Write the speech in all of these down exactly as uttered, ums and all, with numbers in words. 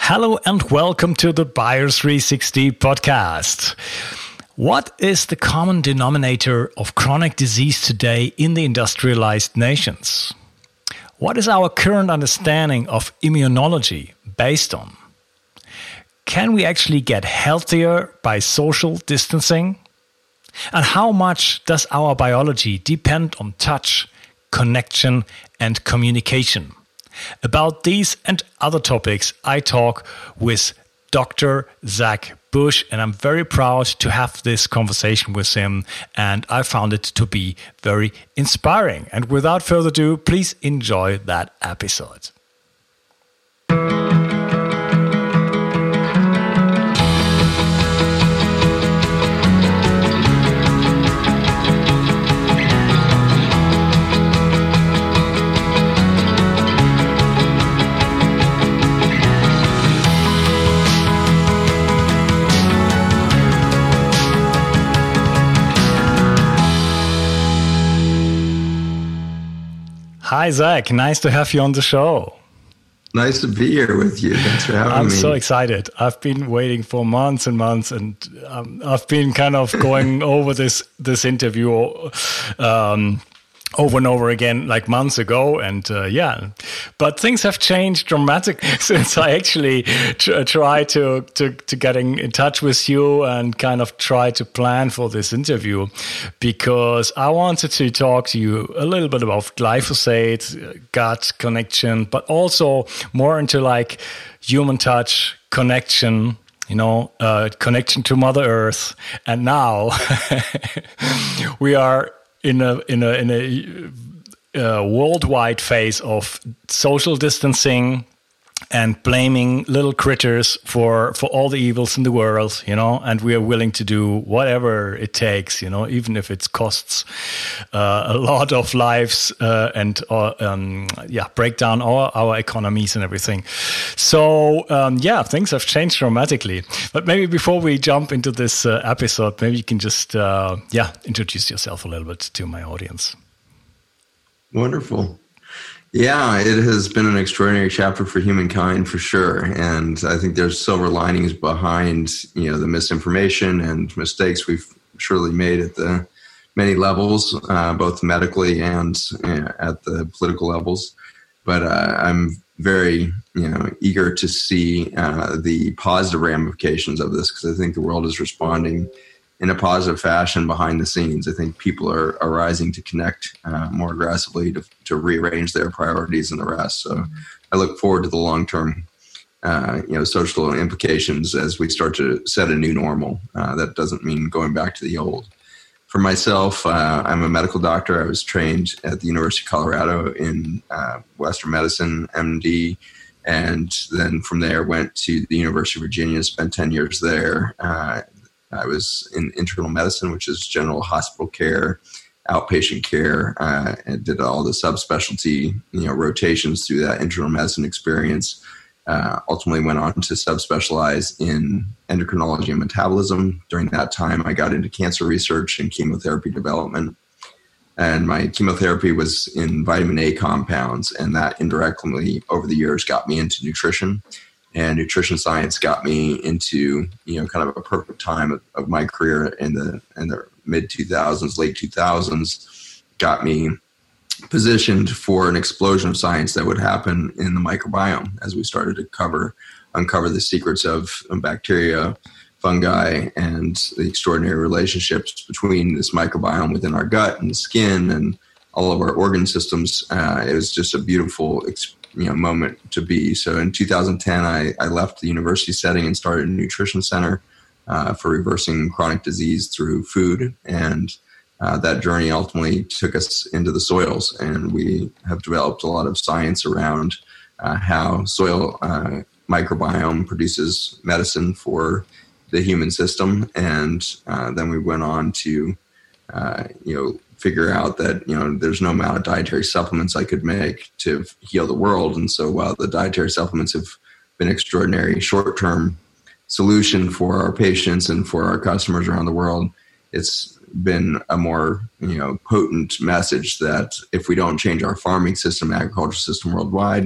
Hello and welcome to the Bayer three sixty podcast. What is the common denominator of chronic disease today in the industrialized nations? What is our current understanding of immunology based on? Can we actually get healthier by social distancing? And how much does our biology depend on touch, connection, and communication? About these and other topics, I talk with Doctor Zach Bush, and I'm very proud to have this conversation with him, and I found it to be very inspiring. And without further ado, please enjoy that episode. Hi, Zach. Nice to have you on the show. Nice to be here with you. Thanks for having I'm me. I'm so excited. I've been waiting for months and months, and um, I've been kind of going over this this interview um, over and over again, like months ago. And uh, yeah, but things have changed dramatically since I actually tr- tried to, to, to getting in touch with you and kind of try to plan for this interview, because I wanted to talk to you a little bit about glyphosate, gut connection, but also more into like human touch, connection, you know, uh, connection to Mother Earth. And now we are in a in a in a uh, worldwide phase of social distancing and blaming little critters for for all the evils in the world, you know, and we are willing to do whatever it takes, you know, even if it costs uh, a lot of lives uh, and uh, um, yeah, break down our our economies and everything. So um, yeah, things have changed dramatically. But maybe before we jump into this uh, episode, maybe you can just uh, yeah introduce yourself a little bit to my audience. Wonderful. Yeah, it has been an extraordinary chapter for humankind for sure. And I think there's silver linings behind, you know, the misinformation and mistakes we've surely made at the many levels, uh, both medically and uh, at the political levels. But uh, I'm very, you know, eager to see uh, the positive ramifications of this, because I think the world is responding in a positive fashion behind the scenes. I think people are, are rising to connect uh, more aggressively to, to rearrange their priorities and the rest. So I look forward to the long-term, uh, you know, social implications as we start to set a new normal. Uh, that doesn't mean going back to the old. For myself, uh, I'm a medical doctor. I was trained at the University of Colorado in uh, Western Medicine, M D, and then from there went to the University of Virginia, spent ten years there. Uh, I was in internal medicine, which is general hospital care, outpatient care, uh, and did all the subspecialty, you know, rotations through that internal medicine experience. Uh, ultimately went on to subspecialize in endocrinology and metabolism. During that time, I got into cancer research and chemotherapy development. And my chemotherapy was in vitamin A compounds, and that indirectly over the years got me into nutrition. And nutrition science got me into, you know, kind of a perfect time of, of my career in the in the mid two thousands, late two thousands, got me positioned for an explosion of science that would happen in the microbiome as we started to cover, uncover the secrets of bacteria, fungi, and the extraordinary relationships between this microbiome within our gut and the skin and all of our organ systems. Uh, it was just a beautiful experience. You know, moment to be. So in two thousand ten, I, I left the university setting and started a nutrition center uh, for reversing chronic disease through food. And uh, that journey ultimately took us into the soils. And we have developed a lot of science around uh, how soil uh, microbiome produces medicine for the human system. And uh, then we went on to, uh, you know, figure out that, you know, there's no amount of dietary supplements I could make to heal the world. And so while the dietary supplements have been extraordinary short-term solution for our patients and for our customers around the world, it's been a more, you know, potent message that if we don't change our farming system, agriculture system worldwide,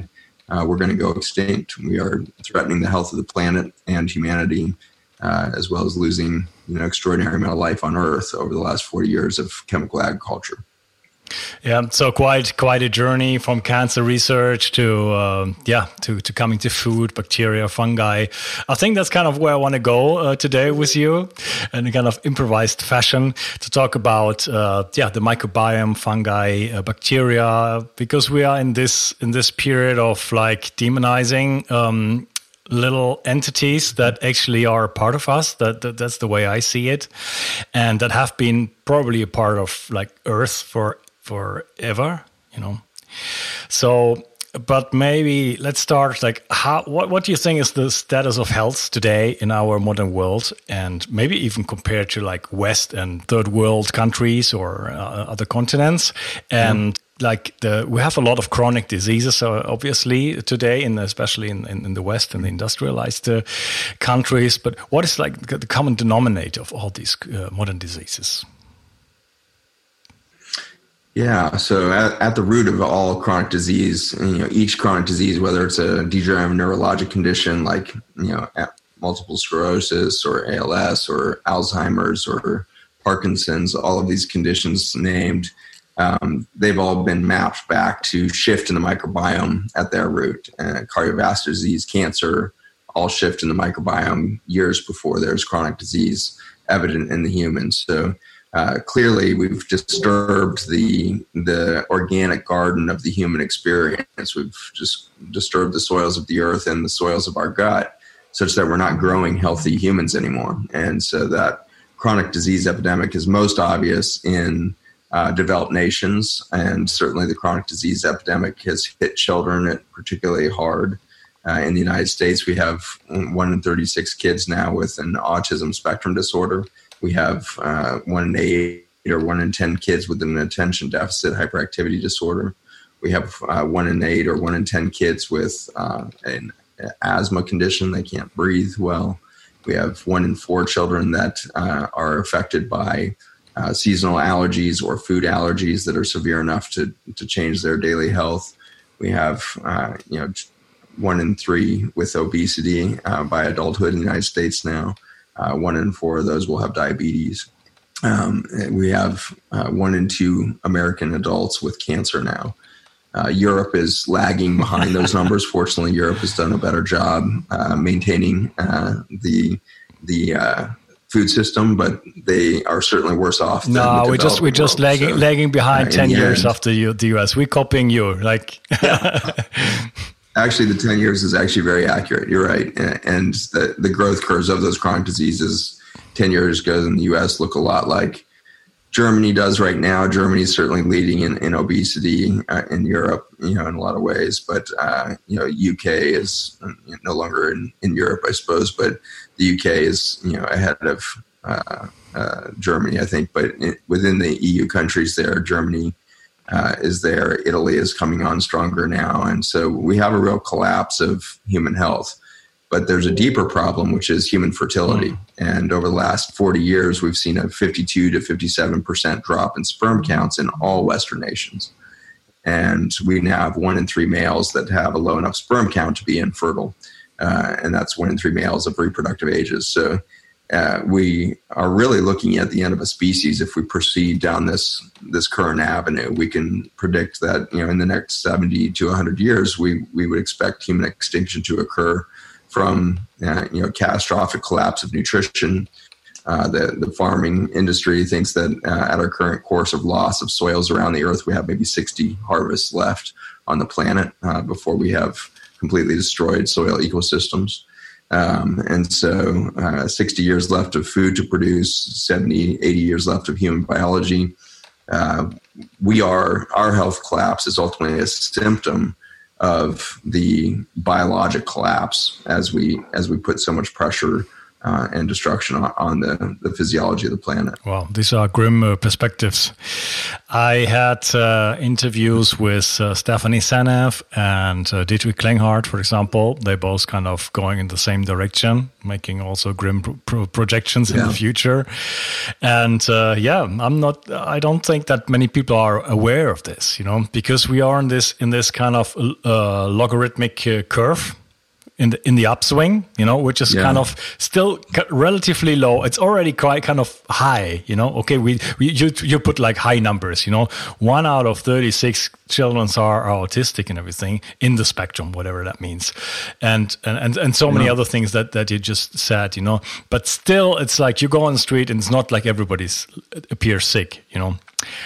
uh, we're going to go extinct. We are threatening the health of the planet and humanity, uh, as well as losing, you know, extraordinary amount of life on Earth over the last forty years of chemical agriculture. Yeah, so quite quite a journey from cancer research to uh, yeah to, to coming to food, bacteria, fungi. I think that's kind of where I want to go uh, today with you, in a kind of improvised fashion, to talk about uh, yeah the microbiome, fungi, uh, bacteria, because we are in this in this period of like demonizing Um, little entities that actually are a part of us. That, that that's the way I see it, and that have been probably a part of like Earth for forever, you know. So, but maybe let's start like how what what do you think is the status of health today in our modern world, and maybe even compared to like West and third world countries or uh, other continents, and mm. Like the, we have a lot of chronic diseases, uh, obviously today, in especially in, in, in the West and the industrialized uh, countries. But what is like the common denominator of all these uh, modern diseases? Yeah, so at, at the root of all chronic disease, you know, each chronic disease, whether it's a degenerative neurologic condition like, you know, multiple sclerosis or A L S or Alzheimer's or Parkinson's, all of these conditions named, Um, they've all been mapped back to shift in the microbiome at their root. Uh, cardiovascular disease, cancer, all shift in the microbiome years before there's chronic disease evident in the humans. So uh, clearly we've disturbed the the organic garden of the human experience. We've just disturbed the soils of the earth and the soils of our gut, such that we're not growing healthy humans anymore. And so that chronic disease epidemic is most obvious in Uh, developed nations, and certainly the chronic disease epidemic has hit children particularly hard. Uh, in the United States, we have one in thirty-six kids now with an autism spectrum disorder. We have uh, one in eight or one in ten kids with an attention deficit hyperactivity disorder. We have uh, one in eight or one in ten kids with uh, an asthma condition. They can't breathe well. We have one in four children that uh, are affected by Uh, seasonal allergies or food allergies that are severe enough to to change their daily health. We have, uh, you know, one in three with obesity uh, by adulthood in the United States now. Uh, one in four of those will have diabetes. Um, we have uh, one in two American adults with cancer now. Uh, Europe is lagging behind those numbers. Fortunately, Europe has done a better job uh, maintaining uh, the the uh, food system, but they are certainly worse off than no the we just we're just world. lagging so, lagging behind uh, ten years end, after you, the U S. We're copying you, like yeah. Actually, the ten years is actually very accurate. You're right, and the the growth curves of those chronic diseases ten years ago in the U S look a lot like Germany does right now. Germany is certainly leading in, in obesity uh, in Europe, you know, in a lot of ways. But uh, you know, U K is no longer in, in Europe, I suppose. But the U K is, you know, ahead of uh, uh, Germany, I think. But in, within the E U countries, there, Germany uh, is there. Italy is coming on stronger now, and so we have a real collapse of human health. But there's a deeper problem, which is human fertility. Mm. And over the last forty years, we've seen a fifty-two to fifty-seven percent drop in sperm counts in all Western nations. And we now have one in three males that have a low enough sperm count to be infertile. Uh, and that's one in three males of reproductive ages. So uh, we are really looking at the end of a species if we proceed down this this current avenue. We can predict that, you know, in the next seventy to one hundred years, we, we would expect human extinction to occur from uh, you know, catastrophic collapse of nutrition. Uh, the, the farming industry thinks that uh, at our current course of loss of soils around the earth, we have maybe sixty harvests left on the planet uh, before we have completely destroyed soil ecosystems. Um, and so uh, sixty years left of food to produce, seventy, eighty years left of human biology. Uh, we are, our health collapse is ultimately a symptom of the biologic collapse as we as we put so much pressure uh, and destruction on, on the, the physiology of the planet. Wow, these are grim uh, perspectives. I had uh, interviews with uh, Stephanie Seneff and uh, Dietrich Klinghardt, for example. They both kind of going in the same direction, making also grim pro- pro- projections yeah. in the future. And uh, yeah, I'm not. I don't think that many people are aware of this, you know, because we are in this in this kind of uh, logarithmic uh, curve. In the in the upswing, you know, which is yeah. kind of still relatively low. It's already quite kind of high, you know. Okay, we, we you you put like high numbers, you know. One out of thirty-six children are, are autistic and everything in the spectrum, whatever that means, and and and, and so many yeah. other things that, that you just said, you know. But still, it's like you go on the street and it's not like everybody's appears sick, you know.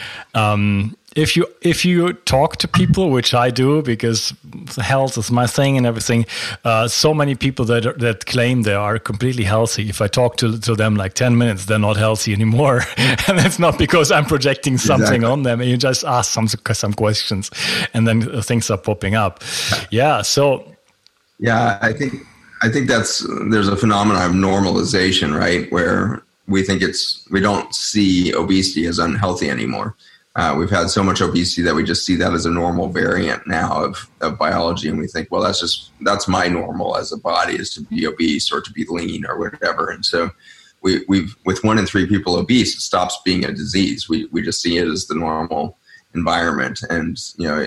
Um, If you if you talk to people, which I do because health is my thing and everything, uh, so many people that are, that claim they are completely healthy. If I talk to to them like ten minutes, they're not healthy anymore, and it's not because I'm projecting something exactly. on them. And you just ask some some questions, and then things are popping up. Yeah. So. Yeah, I think I think that's there's a phenomenon of normalization, right, where we think it's we don't see obesity as unhealthy anymore. Uh, we've had so much obesity that we just see that as a normal variant now of, of biology. And we think, well, that's just, that's my normal as a body is to be obese or to be lean or whatever. And so we, we've, with one in three people obese, it stops being a disease. We, we just see it as the normal environment. And, you know,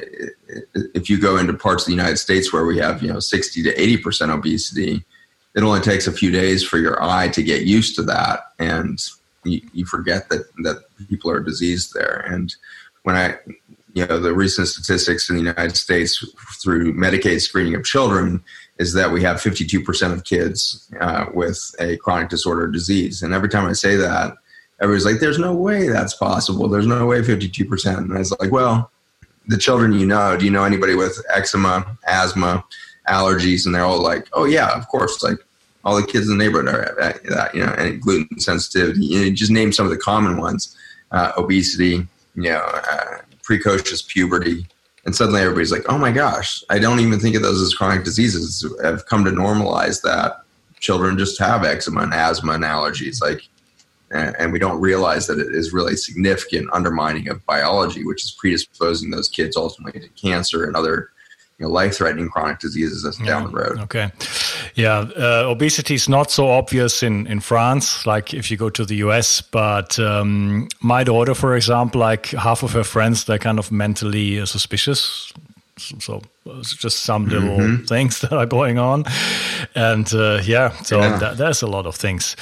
if you go into parts of the United States where we have, you know, sixty to eighty percent obesity, it only takes a few days for your eye to get used to that. And You, you forget that, that people are diseased there. And when I, you know, the recent statistics in the United States through Medicaid screening of children is that we have fifty-two percent of kids uh, with a chronic disorder disease. And every time I say that, everybody's like, there's no way that's possible. There's no way fifty-two percent. And I was like, well, the children you know, do you know anybody with eczema, asthma, allergies? And they're all like, oh yeah, of course. Like, all the kids in the neighborhood are at that, you know, and gluten sensitivity. You know, just name some of the common ones: uh, obesity, you know, uh, precocious puberty, and suddenly everybody's like, "Oh my gosh, I don't even think of those as chronic diseases." I've come to normalize that children just have eczema and asthma and allergies, like, and we don't realize that it is really significant undermining of biology, which is predisposing those kids ultimately to cancer and other, you know, life-threatening chronic diseases that's yeah. down the road. Okay. Yeah. Uh, obesity is not so obvious in, in France, like if you go to the U S, but um, my daughter, for example, like half of her friends, they're kind of mentally uh, suspicious. So it's just some little mm-hmm. things that are going on. And uh, yeah, so yeah. Th- there's a lot of things.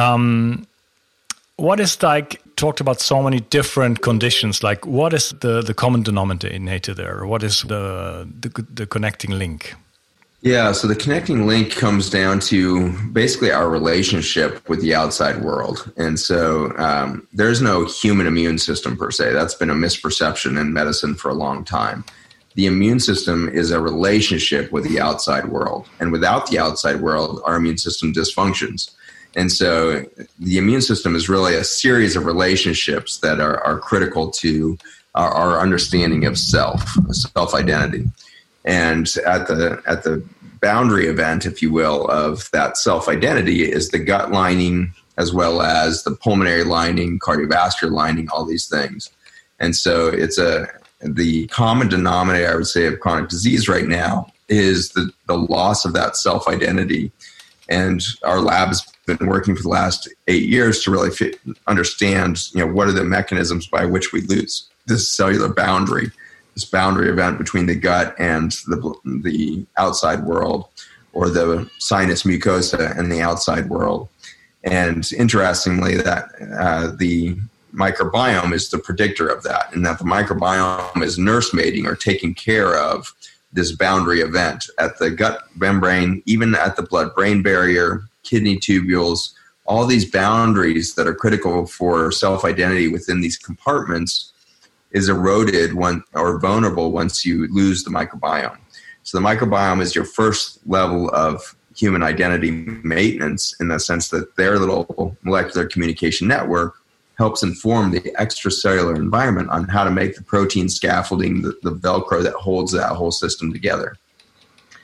Um, what is like, talked about so many different conditions, like what is the, the common denominator there? What is the, the the connecting link? Yeah, so the connecting link comes down to basically our relationship with the outside world. And so um, there's no human immune system per se. That's been a misperception in medicine for a long time. The immune system is a relationship with the outside world. And without the outside world, our immune system dysfunctions. And so the immune system is really a series of relationships that are, are critical to our, our understanding of self, self-identity. And at the at the boundary event, if you will, of that self-identity is the gut lining as well as the pulmonary lining, cardiovascular lining, all these things. And so it's a the common denominator, I would say, of chronic disease right now is the, the loss of that self-identity. And our lab has been working for the last eight years to really fit, understand, you know, what are the mechanisms by which we lose this cellular boundary, this boundary event between the gut and the the outside world, or the sinus mucosa and the outside world. And interestingly, that uh, the microbiome is the predictor of that, and that the microbiome is nursemaiding or taking care of this boundary event at the gut membrane, even at the blood-brain barrier, kidney tubules, all these boundaries that are critical for self-identity within these compartments is eroded when, or vulnerable once you lose the microbiome. So the microbiome is your first level of human identity maintenance, in the sense that their little molecular communication network helps inform the extracellular environment on how to make the protein scaffolding, the, the Velcro that holds that whole system together.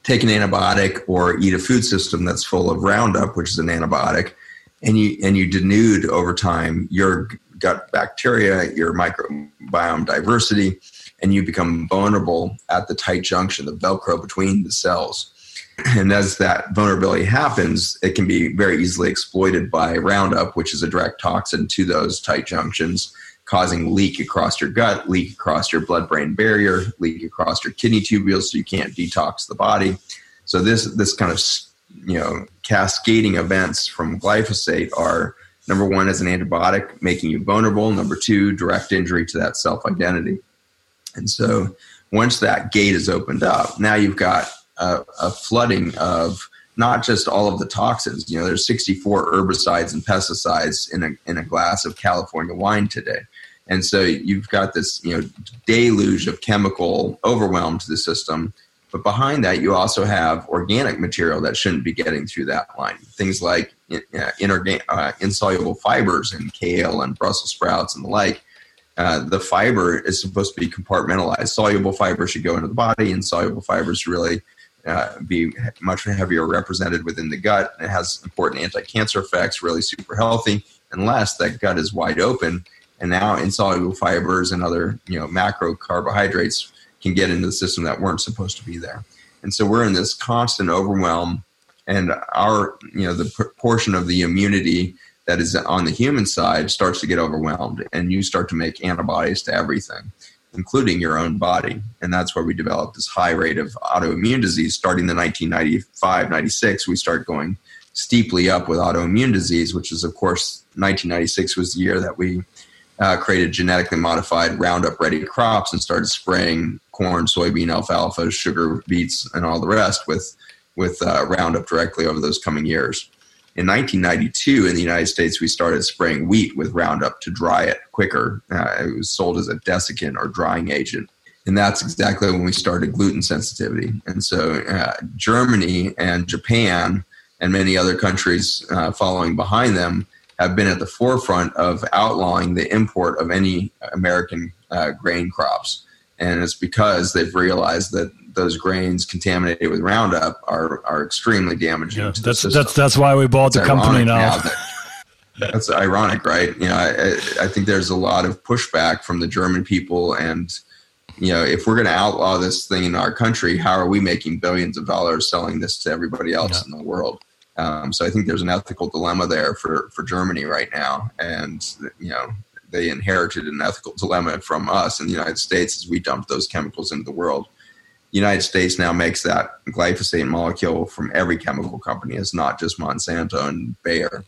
take an antibiotic or eat a food system that's full of Roundup, which is an antibiotic, and you and you denude over time your gut bacteria, your microbiome diversity, and you become vulnerable at the tight junction, the Velcro between the cells. And as that vulnerability happens, it can be very easily exploited by Roundup, which is a direct toxin to those tight junctions, causing leak across your gut, leak across your blood-brain barrier, leak across your kidney tubules, so you can't detox the body. So this this kind of, you know, cascading events from glyphosate are, number one, as an antibiotic, making you vulnerable. Number two, direct injury to that self-identity. And so once that gate is opened up, now you've got a, a flooding of not just all of the toxins. You know, there's sixty-four herbicides and pesticides in a in a glass of California wine today. And so you've got this, you know, deluge of chemical overwhelm to the system. But behind that, you also have organic material that shouldn't be getting through that line. Things like uh, inorgan- uh, insoluble fibers in kale and Brussels sprouts and the like. Uh, the fiber is supposed to be compartmentalized. Soluble fibers should go into the body, and insoluble fibers really uh, be much heavier represented within the gut. It has important anti-cancer effects, really super healthy, unless that gut is wide open. And now insoluble fibers and other, you know, macro carbohydrates can get into the system that weren't supposed to be there. And so we're in this constant overwhelm, and our, you know, the portion of the immunity that is on the human side starts to get overwhelmed, and you start to make antibodies to everything, including your own body. And that's where we developed this high rate of autoimmune disease. Starting in nineteen ninety-five, ninety-six, we start going steeply up with autoimmune disease, which is, of course, nineteen ninety-six was the year that we Uh, created genetically modified Roundup-ready crops and started spraying corn, soybean, alfalfa, sugar beets, and all the rest with with uh, Roundup directly over those coming years. In nineteen ninety-two, in the United States, we started spraying wheat with Roundup to dry it quicker. Uh, it was sold as a desiccant or drying agent. And that's exactly when we started gluten sensitivity. And so uh, Germany and Japan and many other countries uh, following behind them have been at the forefront of outlawing the import of any American uh, grain crops. And it's because they've realized that those grains contaminated with Roundup are are extremely damaging yeah, to that's, the system. That's, that's why we bought it's the company now. now that, that's ironic, right? You know, I, I think there's a lot of pushback from the German people. And, you know, if we're going to outlaw this thing in our country, how are we making billions of dollars selling this to everybody else yeah. in the world? Um, so I think there's an ethical dilemma there for, for Germany right now. And, you know, they inherited an ethical dilemma from us in the United States as we dumped those chemicals into the world. The United States now makes that glyphosate molecule from every chemical company. It's not just Monsanto and Bayer.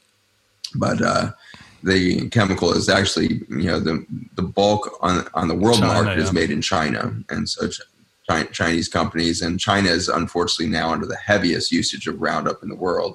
But uh, the chemical is actually, you know, the the bulk on, on the world China, market yeah. is made in China. And so Chinese companies, and China is unfortunately now under the heaviest usage of Roundup in the world.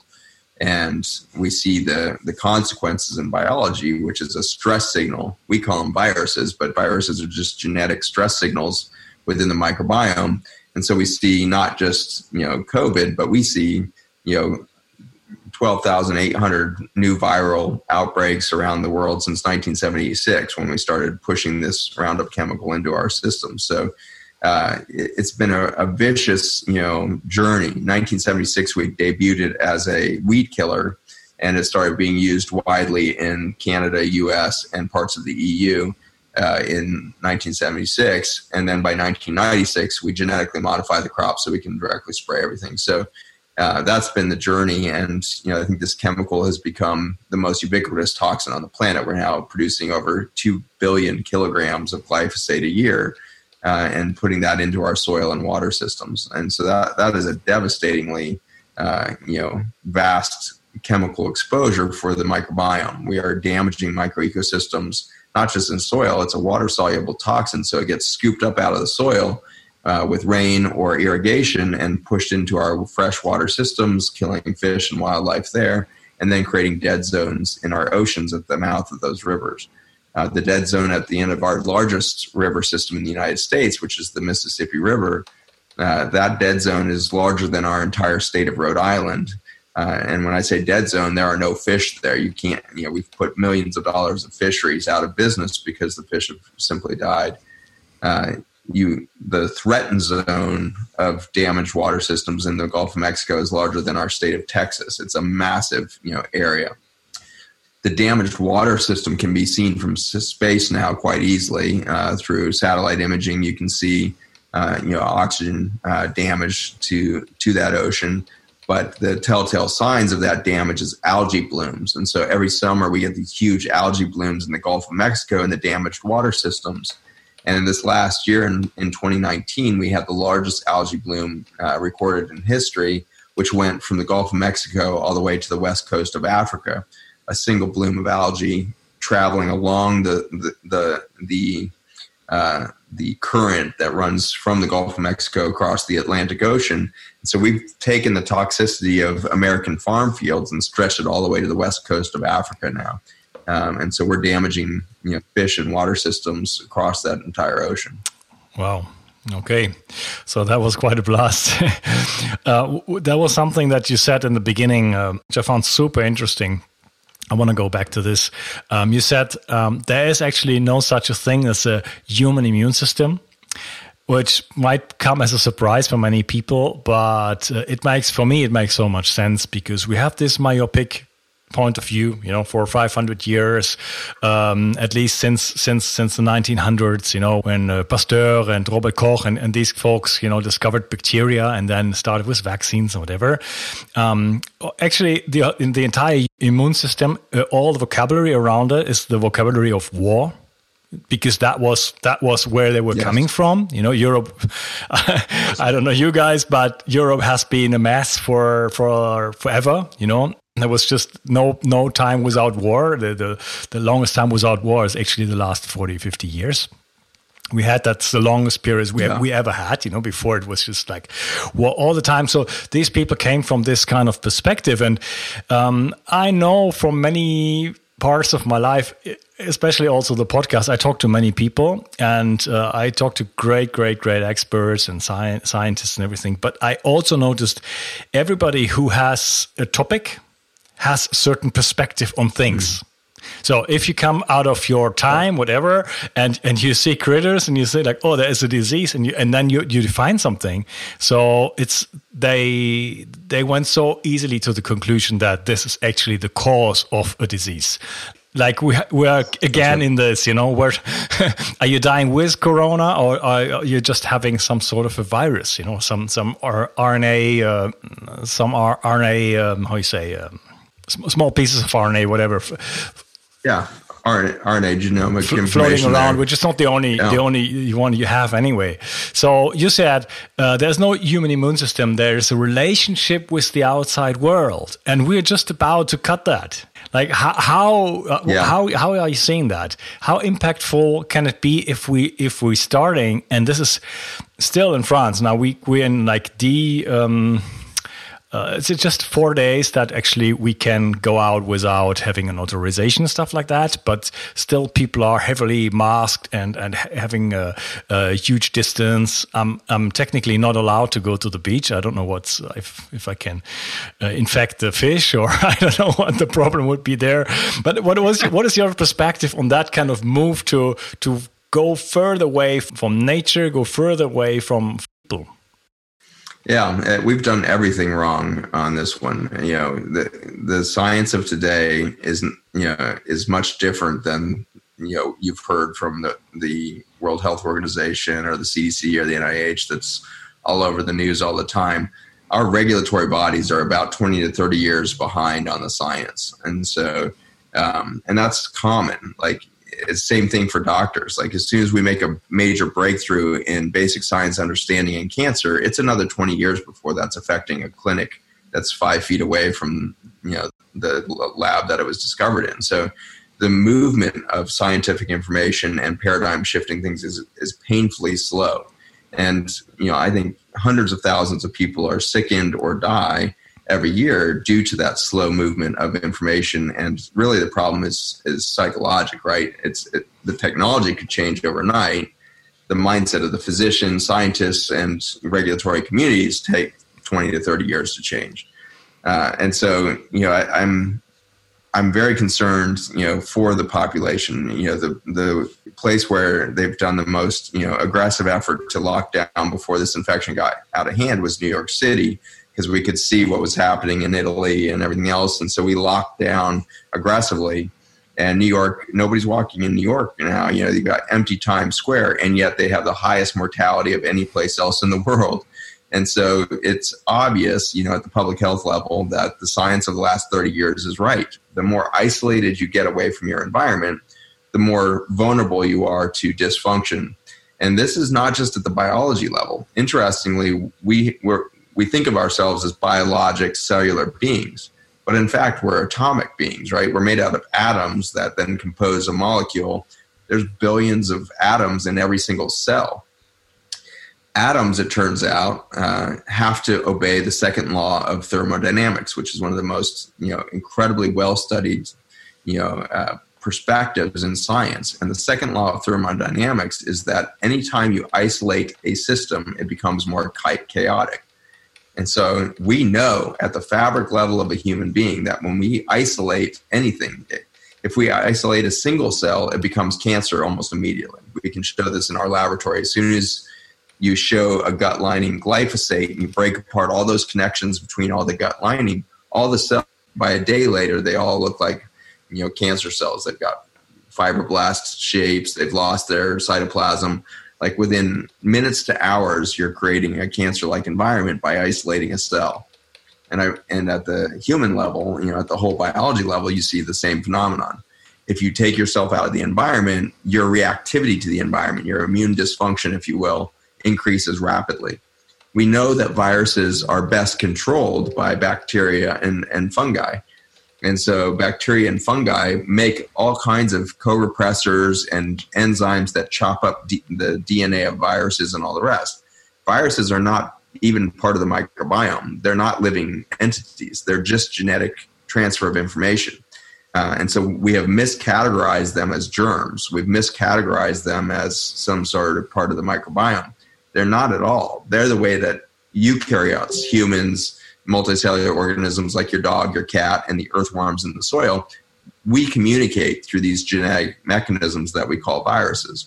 And we see the, the consequences in biology, which is a stress signal. We call them viruses, but viruses are just genetic stress signals within the microbiome. And so we see not just, you know, COVID, but we see, you know, twelve thousand eight hundred new viral outbreaks around the world since nineteen seventy-six, when we started pushing this Roundup chemical into our system. So Uh, it's been a, a vicious, you know, journey. nineteen seventy-six, we debuted it as a weed killer, and it started being used widely in Canada, U S, and parts of the E U uh, in nineteen seventy-six. And then by nineteen ninety-six, we genetically modified the crop so we can directly spray everything. So uh, that's been the journey. And, you know, I think this chemical has become the most ubiquitous toxin on the planet. We're now producing over two billion kilograms of glyphosate a year. Uh, and putting that into our soil and water systems. And so that that is a devastatingly, uh, you know, vast chemical exposure for the microbiome. We are damaging microecosystems, not just in soil. It's a water-soluble toxin, so it gets scooped up out of the soil uh, with rain or irrigation and pushed into our freshwater systems, killing fish and wildlife there, and then creating dead zones in our oceans at the mouth of those rivers. Uh, the dead zone at the end of our largest river system in the United States, which is the Mississippi River, uh, that dead zone is larger than our entire state of Rhode Island. Uh, and when I say dead zone, there are no fish there. You can't, you know, we've put millions of dollars of fisheries out of business because the fish have simply died. Uh, you the threatened zone of damaged water systems in the Gulf of Mexico is larger than our state of Texas. It's a massive, you know, area. The damaged water system can be seen from space now quite easily uh, through satellite imaging. You can see, uh, you know, oxygen uh, damage to to that ocean. But the telltale signs of that damage is algae blooms. And so every summer we get these huge algae blooms in the Gulf of Mexico and the damaged water systems. And in this last year, in, in twenty nineteen, we had the largest algae bloom uh, recorded in history, which went from the Gulf of Mexico all the way to the west coast of Africa. A single bloom of algae traveling along the the the the, uh, the current that runs from the Gulf of Mexico across the Atlantic Ocean. And so we've taken the toxicity of American farm fields and stretched it all the way to the west coast of Africa now. Um, and so we're damaging, you know, fish and water systems across that entire ocean. Wow. Okay. So that was quite a blast. uh, that was something that you said in the beginning, uh, which I found super interesting. I want to go back to this. Um, you said um, there is actually no such a thing as a human immune system, which might come as a surprise for many people, but uh, it makes, for me, it makes so much sense because we have this myopic point of view, you know, for five hundred years, um, at least since since since the nineteen hundreds, you know, when uh, Pasteur and Robert Koch and, and these folks, you know, discovered bacteria and then started with vaccines or whatever. Um, actually, the in the entire immune system, uh, all the vocabulary around it is the vocabulary of war. Because that was that was where they were yes. coming from, you know. Europe, I don't know you guys, but Europe has been a mess for for forever, you know. There was just no no time without war. The, the the longest time without war is actually the last forty, fifty years. We had that's the longest period we yeah. we ever had, you know. Before it was just like war all the time. So these people came from this kind of perspective, and um, I know from many parts of my life, especially also the podcast, I talk to many people and uh, I talk to great, great, great experts and sci- scientists and everything. But I also noticed everybody who has a topic has a certain perspective on things. Mm. So if you come out of your time, whatever, and, and you see critters and you say like, oh, there is a disease, and you and then you, you define something. So it's they they went so easily to the conclusion that this is actually the cause of a disease. Like we we are again in this, you know, where are you dying with corona or are you just having some sort of a virus, you know, some some R N A, uh, some R N A, um, how you say, um, small pieces of R N A, whatever. Yeah, R N A, R N A genomic F- information floating around, there. Which is not the only yeah. the only one you have anyway. So you said uh, there's no human immune system. There's a relationship with the outside world, and we're just about to cut that. Like how how uh, yeah. how how are you seeing that? How impactful can it be if we if we're starting? And this is still in France now. We we're in like the. Um, Uh, it's just four days that actually we can go out without having an authorization and stuff like that. But still, people are heavily masked and, and having a, a huge distance. I'm, I'm technically not allowed to go to the beach. I don't know what's if, if I can uh, infect the fish, or I don't know what the problem would be there. But what was what is your perspective on that kind of move to to go further away from nature, go further away from people? Yeah, we've done everything wrong on this one. You know, the the science of today isn't, you know, is much different than, you know, you've heard from the, the World Health Organization or the C D C or the N I H that's all over the news all the time. Our regulatory bodies are about twenty to thirty years behind on the science. And so, um, and that's common. Like, it's the same thing for doctors. Like, as soon as we make a major breakthrough in basic science understanding in cancer, it's another twenty years before that's affecting a clinic that's five feet away from, you know, the lab that it was discovered in. So the movement of scientific information and paradigm shifting things is, is painfully slow. And, you know, I think hundreds of thousands of people are sickened or die every year due to that slow movement of information. And really the problem is is psychological, right? It's it, the technology could change overnight. The mindset of the physicians, scientists, and regulatory communities take twenty to thirty years to change. Uh, and so, you know, I, I'm I'm very concerned, you know, for the population. You know, the the place where they've done the most, you know, aggressive effort to lock down before this infection got out of hand was New York City, because we could see what was happening in Italy and everything else, and so we locked down aggressively. And New York, nobody's walking in New York now. You know, you've got empty Times Square, and yet they have the highest mortality of any place else in the world. And so it's obvious, you know, at the public health level that the science of the last thirty years is right. The more isolated you get away from your environment, the more vulnerable you are to dysfunction. And this is not just at the biology level. Interestingly, we we're, we think of ourselves as biologic cellular beings, but in fact, we're atomic beings, right? We're made out of atoms that then compose a molecule. There's billions of atoms in every single cell. Atoms, it turns out, uh, have to obey the second law of thermodynamics, which is one of the most, you know, incredibly well-studied, you know, uh, perspectives in science. And the second law of thermodynamics is that anytime you isolate a system, it becomes more chaotic. And so we know at the fabric level of a human being that when we isolate anything, if we isolate a single cell, it becomes cancer almost immediately. We can show this in our laboratory. As soon as you show a gut lining glyphosate and you break apart all those connections between all the gut lining, all the cells, by a day later, they all look like, you know, cancer cells. They've got fibroblast shapes. They've lost their cytoplasm. Like within minutes to hours, you're creating a cancer-like environment by isolating a cell. And I and at the human level, you know, at the whole biology level, you see the same phenomenon. If you take yourself out of the environment, your reactivity to the environment, your immune dysfunction, if you will, increases rapidly. We know that viruses are best controlled by bacteria and, and fungi. And so bacteria and fungi make all kinds of co-repressors and enzymes that chop up D- the D N A of viruses and all the rest. Viruses are not even part of the microbiome. They're not living entities. They're just genetic transfer of information. Uh, and so we have miscategorized them as germs. We've miscategorized them as some sort of part of the microbiome. They're not at all. They're the way that eukaryotes, humans, multicellular organisms like your dog, your cat, and the earthworms in the soil, we communicate through these genetic mechanisms that we call viruses.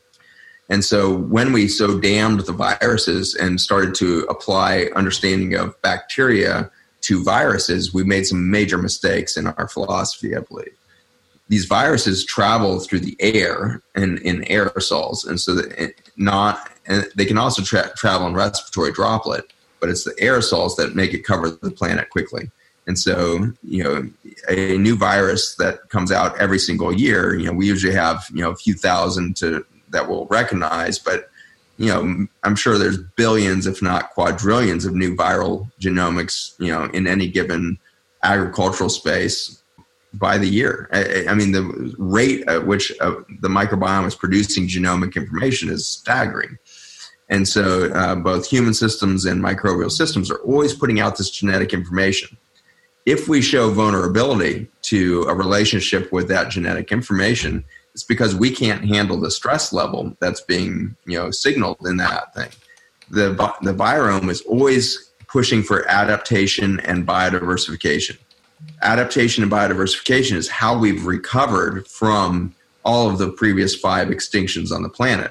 And so when we so damned the viruses and started to apply understanding of bacteria to viruses, we made some major mistakes in our philosophy, I believe. These viruses travel through the air and in aerosols, and so that not, and they can also tra- travel in respiratory droplet, but it's the aerosols that make it cover the planet quickly. And so, you know, a new virus that comes out every single year, you know, we usually have, you know, a few thousand to that we'll recognize, but, you know, I'm sure there's billions, if not quadrillions of new viral genomics, you know, in any given agricultural space by the year. I, I mean, the rate at which uh, the microbiome is producing genomic information is staggering. And so uh, both human systems and microbial systems are always putting out this genetic information. If we show vulnerability to a relationship with that genetic information, it's because we can't handle the stress level that's being, you know, signaled in that thing. The, the virome is always pushing for adaptation and biodiversification. Adaptation and biodiversification is how we've recovered from all of the previous five extinctions on the planet.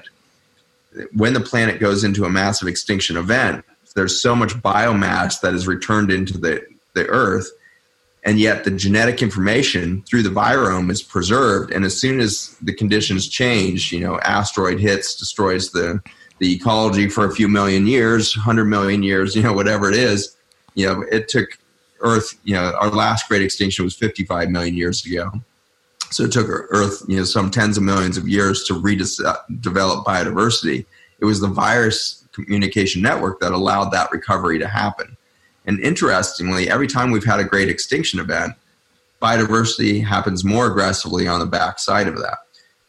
When the planet goes into a massive extinction event, there's so much biomass that is returned into the, the earth, and yet the genetic information through the virome is preserved. And as soon as the conditions change, you know, asteroid hits, destroys the, the ecology for a few million years, one hundred million years, you know, whatever it is, you know, it took Earth, you know, our last great extinction was fifty-five million years ago. So it took Earth, you know, some tens of millions of years to redevelop biodiversity. It was the virus communication network that allowed that recovery to happen. And interestingly, every time we've had a great extinction event, biodiversity happens more aggressively on the backside of that.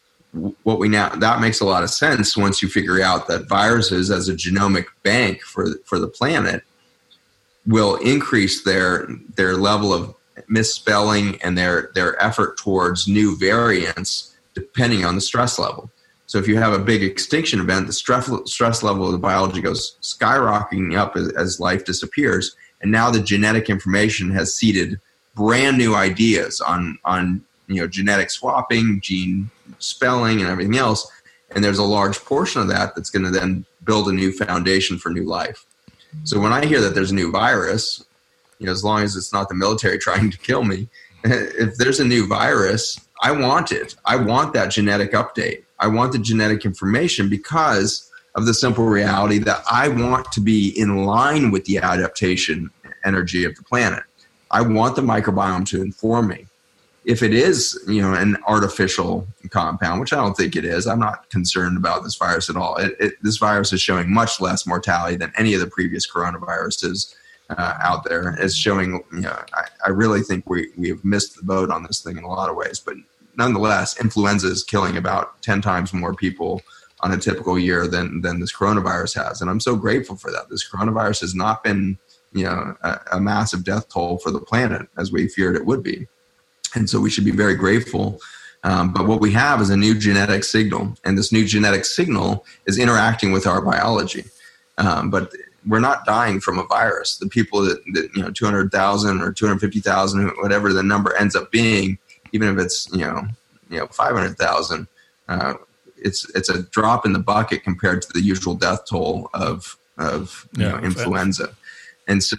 What we now that makes a lot of sense once you figure out that viruses, as a genomic bank for for the planet, will increase their their level of misspelling and their their effort towards new variants depending on the stress level. So if you have a big extinction event, the stress stress level of the biology goes skyrocketing up as, as life disappears, and now the genetic information has seeded brand new ideas on, on, you know, genetic swapping, gene spelling, and everything else. And there's a large portion of that that's going to then build a new foundation for new life. So when I hear that there's a new virus, you know, as long as it's not the military trying to kill me, if there's a new virus, I want it. I want that genetic update. I want the genetic information because of the simple reality that I want to be in line with the adaptation energy of the planet. I want the microbiome to inform me. If it is, you know, an artificial compound, which I don't think it is, I'm not concerned about this virus at all. It, it, this virus is showing much less mortality than any of the previous coronaviruses uh, out there. It's showing, you know, I, I really think we, we have missed the boat on this thing in a lot of ways. But nonetheless, influenza is killing about ten times more people on a typical year than, than this coronavirus has. And I'm so grateful for that. This coronavirus has not been, you know, a, a massive death toll for the planet as we feared it would be. And so we should be very grateful. Um, but what we have is a new genetic signal, and this new genetic signal is interacting with our biology. Um, but we're not dying from a virus. The people that, that you know, two hundred thousand or two hundred fifty thousand, whatever the number ends up being, even if it's, you know, you know, five hundred thousand, uh, it's it's a drop in the bucket compared to the usual death toll of of you yeah, know, influenza. And so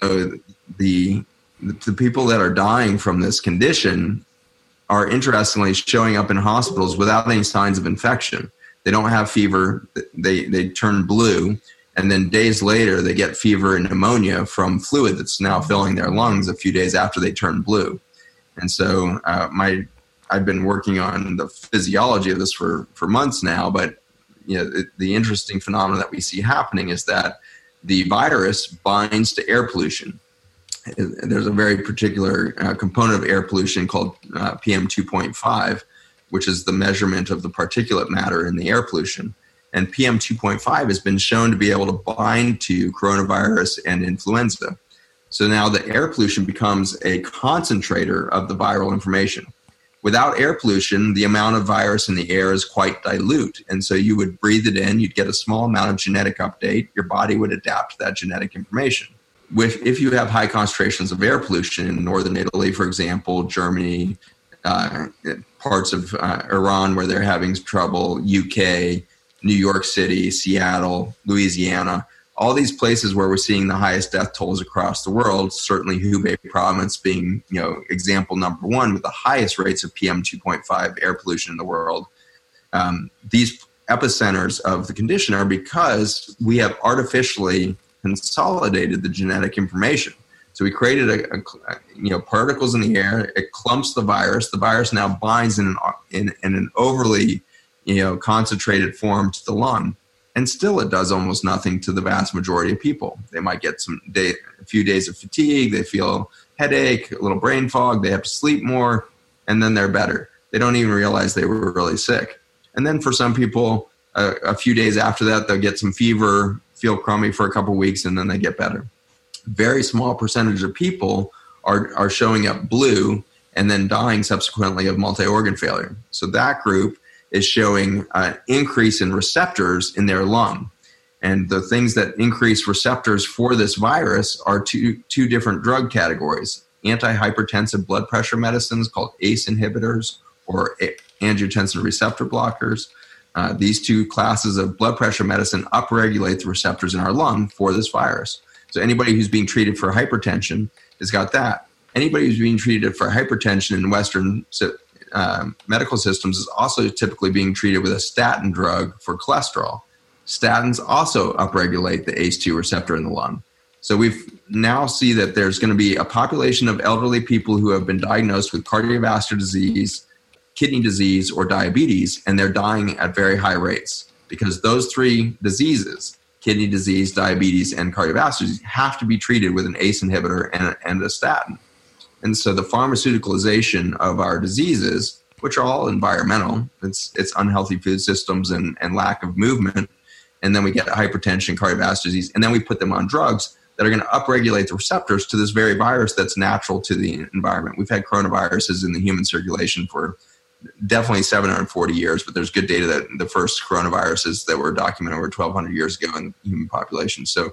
the the people that are dying from this condition are interestingly showing up in hospitals without any signs of infection. They don't have fever. They they turn blue, and then days later they get fever and pneumonia from fluid that's now filling their lungs a few days after they turn blue. And so uh, my I've been working on the physiology of this for, for months now, but you know, the, the interesting phenomenon that we see happening is that the virus binds to air pollution. There's a very particular uh, component of air pollution called uh, P M two point five, which is the measurement of the particulate matter in the air pollution. And P M two point five has been shown to be able to bind to coronavirus and influenza. So now the air pollution becomes a concentrator of the viral information. Without air pollution, the amount of virus in the air is quite dilute. And so you would breathe it in, you'd get a small amount of genetic update, your body would adapt to that genetic information. With, if you have high concentrations of air pollution in northern Italy, for example, Germany, uh, parts of uh, Iran where they're having trouble, U K, New York City, Seattle, Louisiana, all these places where we're seeing the highest death tolls across the world, certainly Hubei province being, you know, example number one with the highest rates of P M two point five air pollution in the world. Um, these epicenters of the condition are because we have artificially consolidated the genetic information. So we created a, a you know particles in the air. It clumps the virus. The virus now binds in an in, in an overly you know concentrated form to the lung, and still it does almost nothing to the vast majority of people. They might get some day, a few days of fatigue. They feel headache, a little brain fog. They have to sleep more, and then they're better. They don't even realize they were really sick. And then for some people, a, a few days after that, they'll get some fever, feel crummy for a couple of weeks, and then they get better. Very small percentage of people are, are showing up blue and then dying subsequently of multi-organ failure. So that group is showing an increase in receptors in their lung. And the things that increase receptors for this virus are two, two different drug categories: antihypertensive blood pressure medicines called A C E inhibitors or angiotensin receptor blockers. Uh, these two classes of blood pressure medicine upregulate the receptors in our lung for this virus. So anybody who's being treated for hypertension has got that. Anybody who's being treated for hypertension in Western uh, medical systems is also typically being treated with a statin drug for cholesterol. Statins also upregulate the A C E two receptor in the lung. So we now see that there's going to be a population of elderly people who have been diagnosed with cardiovascular disease, kidney disease, or diabetes, and they're dying at very high rates because those three diseases, kidney disease, diabetes, and cardiovascular disease, have to be treated with an A C E inhibitor and a, and a statin. And so the pharmaceuticalization of our diseases, which are all environmental, it's, it's unhealthy food systems and, and lack of movement, and then we get hypertension, cardiovascular disease, and then we put them on drugs that are going to upregulate the receptors to this very virus that's natural to the environment. We've had coronaviruses in the human circulation for definitely seven hundred forty years, but there's good data that the first coronaviruses that were documented over twelve hundred years ago in the human population. So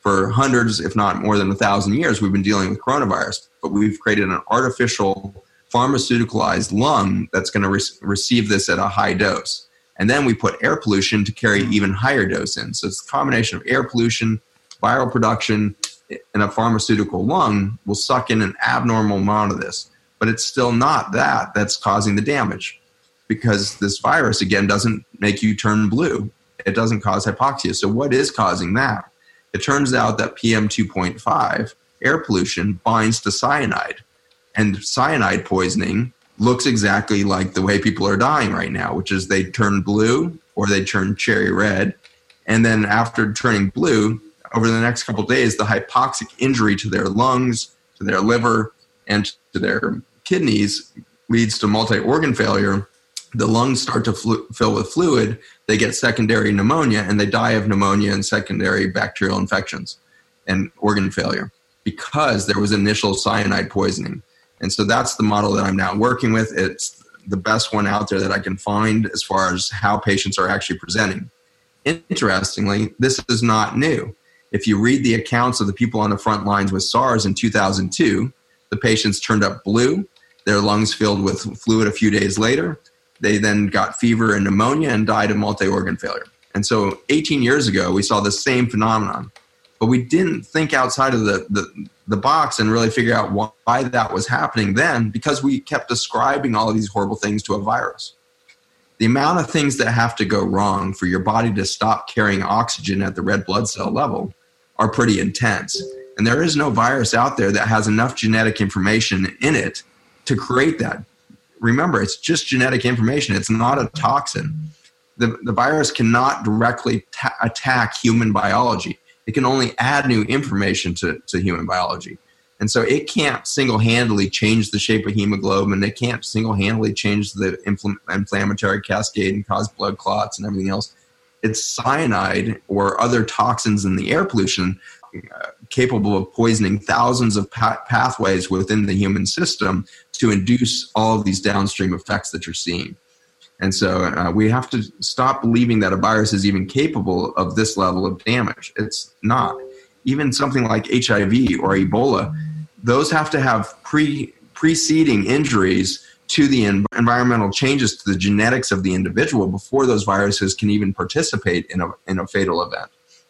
For hundreds, if not more than a thousand years, we've been dealing with coronavirus, but we've created an artificial pharmaceuticalized lung that's going to re- receive this at a high dose. And then we put air pollution to carry even higher dose in. So it's a combination of air pollution, viral production, and a pharmaceutical lung will suck in an abnormal amount of this. But it's still not that that's causing the damage, because this virus, again, doesn't make you turn blue. It doesn't cause hypoxia. So what is causing that? It turns out that P M two point five, air pollution, binds to cyanide. And cyanide poisoning looks exactly like the way people are dying right now, which is they turn blue or they turn cherry red. And then after turning blue, over the next couple of days, the hypoxic injury to their lungs, to their liver, and to their kidneys leads to multi-organ failure. The lungs start to flu- fill with fluid. They get secondary pneumonia, and they die of pneumonia and secondary bacterial infections and organ failure because there was initial cyanide poisoning. And so that's the model that I'm now working with. It's the best one out there that I can find as far as how patients are actually presenting. Interestingly, this is not new. If you read the accounts of the people on the front lines with SARS in two thousand two, the patients turned up blue, their lungs filled with fluid a few days later. They then got fever and pneumonia and died of multi-organ failure. And so eighteen years ago, we saw the same phenomenon. But we didn't think outside of the, the, the box and really figure out why that was happening then, because we kept ascribing all of these horrible things to a virus. The amount of things that have to go wrong for your body to stop carrying oxygen at the red blood cell level are pretty intense. And there is no virus out there that has enough genetic information in it to create that. Remember, it's just genetic information. It's not a toxin. The, the virus cannot directly ta- attack human biology. It can only add new information to, to human biology. And so it can't single-handedly change the shape of hemoglobin. It can't single-handedly change the infl- inflammatory cascade and cause blood clots and everything else. It's cyanide or other toxins in the air pollution uh, capable of poisoning thousands of pa- pathways within the human system to induce all of these downstream effects that you're seeing. And so uh, we have to stop believing that a virus is even capable of this level of damage. It's not. Even something like H I V or Ebola, those have to have pre preceding injuries to the en- environmental changes to the genetics of the individual before those viruses can even participate in a in a fatal event.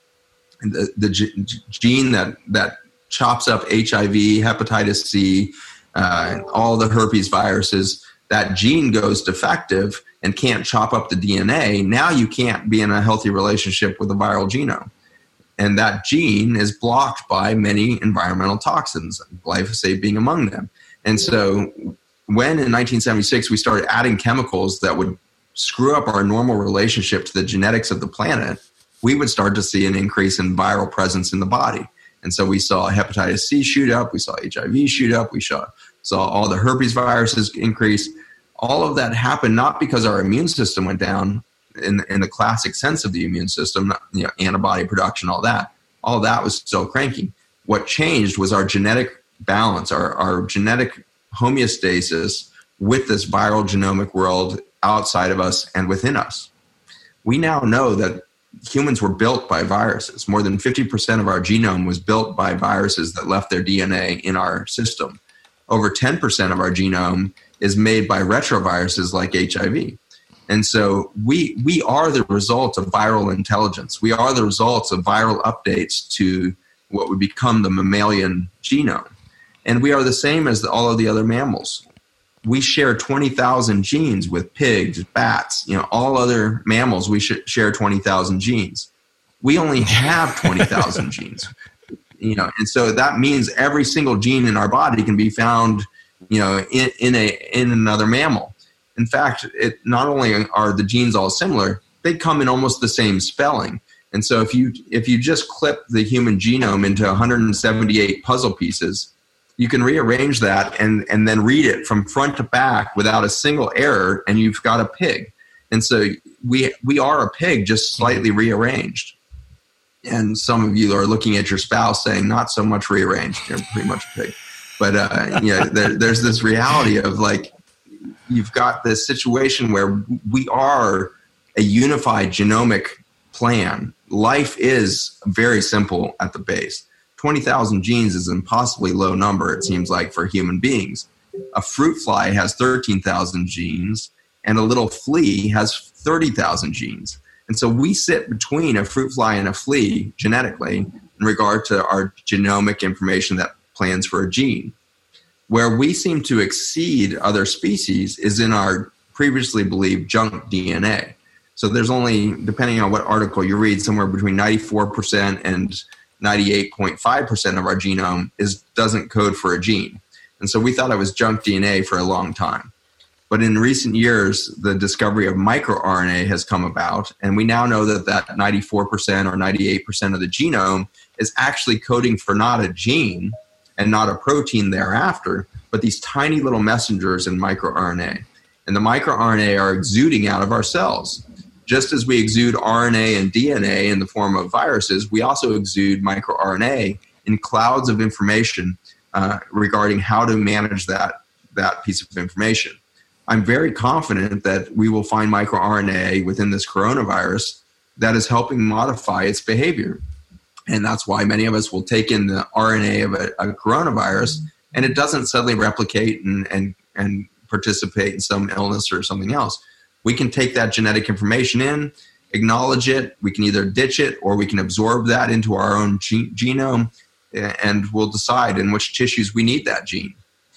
And the the g- gene that that chops up H I V, hepatitis C, uh, all the herpes viruses, that gene goes defective and can't chop up the D N A. Now you can't be in a healthy relationship with a viral genome. And that gene is blocked by many environmental toxins, glyphosate being among them. And so when in nineteen seventy-six we started adding chemicals that would screw up our normal relationship to the genetics of the planet, we would start to see an increase in viral presence in the body. And so we saw hepatitis C shoot up, we saw H I V shoot up, we saw, saw all the herpes viruses increase. All of that happened not because our immune system went down in, in the classic sense of the immune system, you know, antibody production, all that. All that was still cranking. What changed was our genetic balance, our, our genetic homeostasis with this viral genomic world outside of us and within us. We now know that humans were built by viruses. More than fifty percent of our genome was built by viruses that left their D N A in our system. Over ten percent of our genome is made by retroviruses like H I V. And so we we are the result of viral intelligence. We are the results of viral updates to what would become the mammalian genome. And we are the same as the, all of the other mammals. We share twenty thousand genes with pigs, bats, you know, all other mammals. We should share twenty thousand genes. We only have twenty thousand genes, you know, and so that means every single gene in our body can be found, you know, in, in a in another mammal. In fact, it not only are the genes all similar, they come in almost the same spelling. And so if you if you just clip the human genome into one hundred seventy-eight puzzle pieces, you can rearrange that and, and then read it from front to back without a single error, and you've got a pig. And so we we are a pig, just slightly rearranged. And some of you are looking at your spouse saying, not so much rearranged, you're pretty much a pig. But uh, you know, there, there's this reality of like, you've got this situation where we are a unified genomic plan, life is very simple at the base. twenty thousand genes is an impossibly low number, it seems like, for human beings. A fruit fly has thirteen thousand genes, and a little flea has thirty thousand genes. And so we sit between a fruit fly and a flea genetically in regard to our genomic information that plans for a gene. Where we seem to exceed other species is in our previously believed junk D N A. So there's only, depending on what article you read, somewhere between ninety-four percent and ninety-eight point five percent of our genome is doesn't code for a gene. And so we thought it was junk D N A for a long time. But in recent years, the discovery of microRNA has come about, and we now know that that ninety-four percent or ninety-eight percent of the genome is actually coding for not a gene and not a protein thereafter, but these tiny little messengers in microRNA. And the microRNA are exuding out of our cells. Just as we exude R N A and D N A in the form of viruses, we also exude microRNA in clouds of information uh, regarding how to manage that, that piece of information. I'm very confident that we will find microRNA within this coronavirus that is helping modify its behavior. And that's why many of us will take in the R N A of a, a coronavirus, and it doesn't suddenly replicate and, and, and participate in some illness or something else. We can take that genetic information in, acknowledge it, we can either ditch it or we can absorb that into our own ge- genome, and we'll decide in which tissues we need that gene.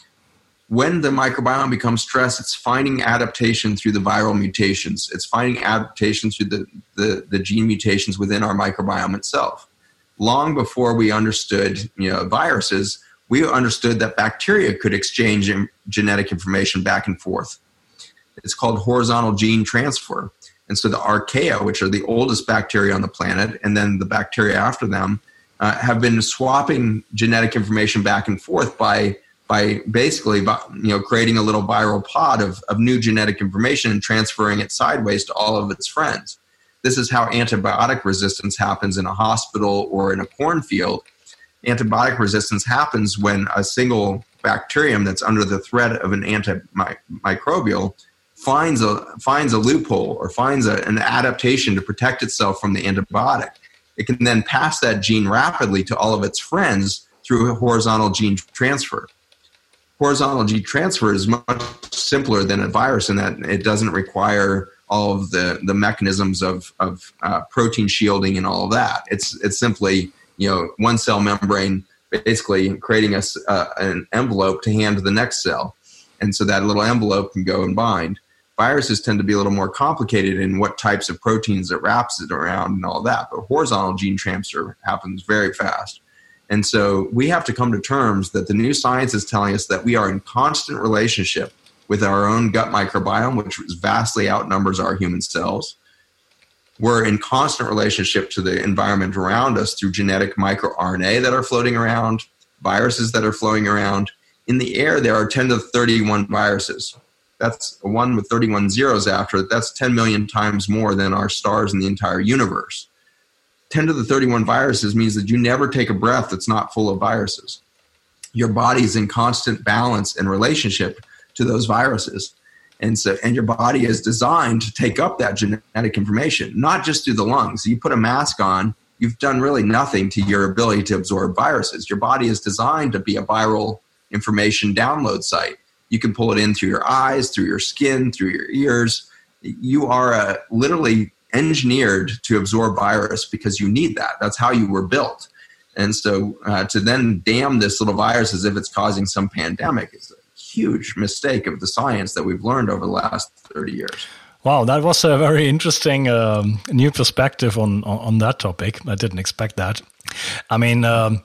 When the microbiome becomes stressed, it's finding adaptation through the viral mutations. It's finding adaptation through the, the, the gene mutations within our microbiome itself. Long before we understood, you know, viruses, we understood that bacteria could exchange genetic information back and forth. It's called horizontal gene transfer. And so the archaea, which are the oldest bacteria on the planet, and then the bacteria after them, uh, have been swapping genetic information back and forth by by basically by, you know, creating a little viral pod of, of new genetic information and transferring it sideways to all of its friends. This is how antibiotic resistance happens in a hospital or in a cornfield. Antibiotic resistance happens when a single bacterium that's under the threat of an antimicrobial finds a finds a loophole or finds a, an adaptation to protect itself from the antibiotic. It can then pass that gene rapidly to all of its friends through a horizontal gene transfer. Horizontal gene transfer is much simpler than a virus in that it doesn't require all of the, the mechanisms of, of uh, protein shielding and all of that. It's it's simply, you know, one cell membrane basically creating a, uh, an envelope to hand to the next cell. And so that little envelope can go and bind. Viruses tend to be a little more complicated in what types of proteins it wraps it around and all that. But horizontal gene transfer happens very fast. And so we have to come to terms that the new science is telling us that we are in constant relationship with our own gut microbiome, which vastly outnumbers our human cells. We're in constant relationship to the environment around us through genetic microRNA that are floating around, viruses that are flowing around. In the air, there are ten to the thirty-one viruses. That's a one with thirty-one zeros after it. That's ten million times more than our stars in the entire universe. ten to the thirty-one viruses means that you never take a breath that's not full of viruses. Your body's in constant balance and relationship to those viruses. And so, and your body is designed to take up that genetic information, not just through the lungs. You put a mask on, you've done really nothing to your ability to absorb viruses. Your body is designed to be a viral information download site. You can pull it in through your eyes, through your skin, through your ears. You are uh, literally engineered to absorb virus because you need that. That's how you were built. And so uh, to then damn this little virus as if it's causing some pandemic is a huge mistake of the science that we've learned over the last thirty years. Wow, that was a very interesting um, new perspective on, on, on that topic. I didn't expect that. I mean, um,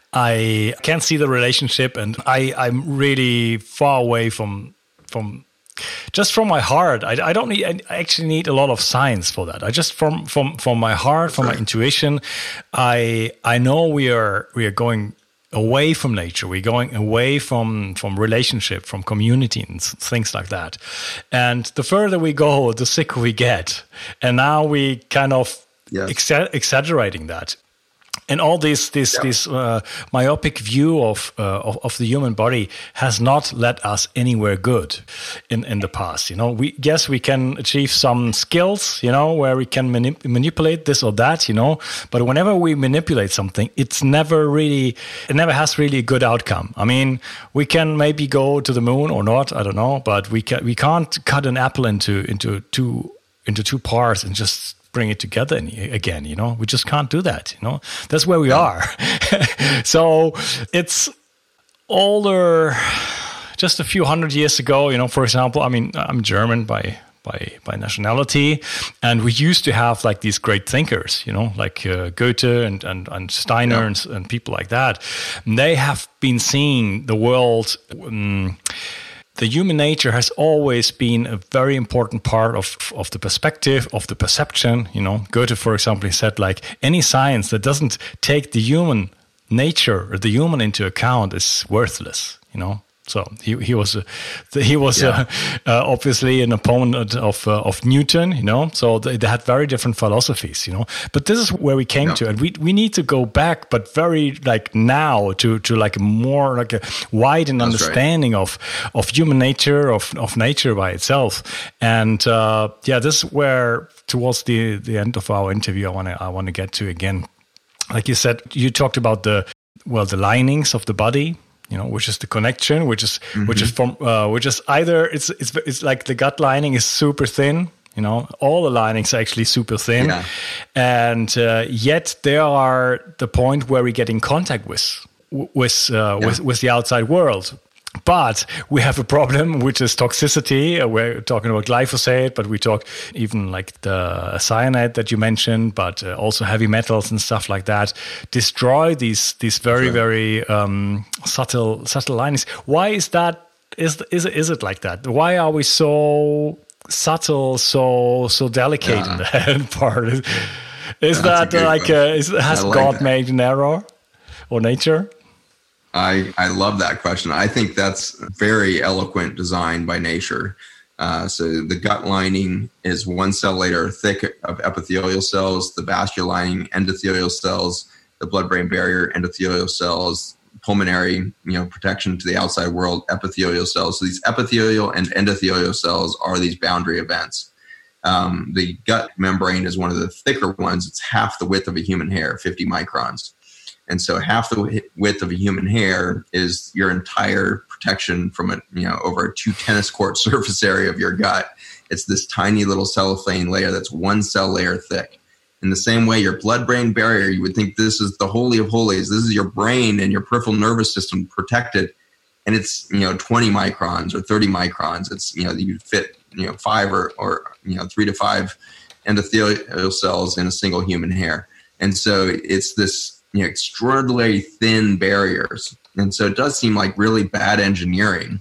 I can't see the relationship, and I, I'm really far away from from just from my heart. I, I don't need. I actually need a lot of science for that. I just from from from my heart, from my intuition. I I know we are we are going away from nature. We're going away from from relationship, from community, and things like that. And the further we go, the sicker we get. And now we kind of yes. exa- exaggerating that. And all this this yeah. this uh, myopic view of, uh, of of the human body has not led us anywhere good in, in the past. You know, we yes we can achieve some skills, you know, where we can manip- manipulate this or that, you know. But whenever we manipulate something, it's never really it never has really a good outcome. I mean, we can maybe go to the moon or not, I don't know, but we can we can't cut an apple into into two into two parts and just bring it together again, you know. We just can't do that, you know. That's where we are. So it's older, just a few hundred years ago, you know. For example, I mean, I'm German by by by nationality, and we used to have like these great thinkers, you know, like uh, Goethe and and, and Steiner yeah. and, and people like that. And they have been seeing the world. Um, The human nature has always been a very important part of, of the perspective, of the perception. You know, Goethe, for example, he said, like, any science that doesn't take the human nature or the human into account is worthless, you know. So he he was a, he was yeah. a, uh, obviously an opponent of uh, of Newton, you know. So they, they had very different philosophies, you know. But this is where we came yeah. to, and we we need to go back, but very like now to to like more like a widened That's understanding right. of of human nature, of of nature by itself. And uh, yeah, this is where towards the the end of our interview, I want to I want to get to again. Like you said, you talked about the well the linings of the body. You know, which is the connection, which is mm-hmm. which is from uh, which is either it's it's it's like the gut lining is super thin. You know, all the linings are actually super thin, yeah. and uh, yet they are the point where we get in contact with with uh, yeah. with with the outside world. But we have a problem, which is toxicity. We're talking about glyphosate, but we talk even like the cyanide that you mentioned, but uh, also heavy metals and stuff like that destroy these these very, sure. very um, subtle subtle linings. Why is that? Is is is it like that? Why are we so subtle, so so delicate yeah. in that part? Is, is that like a, is, has like God that. made an error or nature? I, I love that question. I think that's very eloquent design by nature. Uh, so the gut lining is one cell layer thick of epithelial cells, the vascular lining endothelial cells, the blood-brain barrier endothelial cells, pulmonary, you know, protection to the outside world, epithelial cells. So these epithelial and endothelial cells are these boundary events. Um, the gut membrane is one of the thicker ones. It's half the width of a human hair, fifty microns. And so half the width of a human hair is your entire protection from a, you know, over a two tennis court surface area of your gut. It's this tiny little cellophane layer that's one cell layer thick. In the same way, your blood-brain barrier, you would think this is the holy of holies. This is your brain and your peripheral nervous system protected. And it's, you know, twenty microns or thirty microns. It's, you know, you fit, you know, five or, or, you know, three to five endothelial cells in a single human hair. And so it's this, you know, extraordinarily thin barriers. And so it does seem like really bad engineering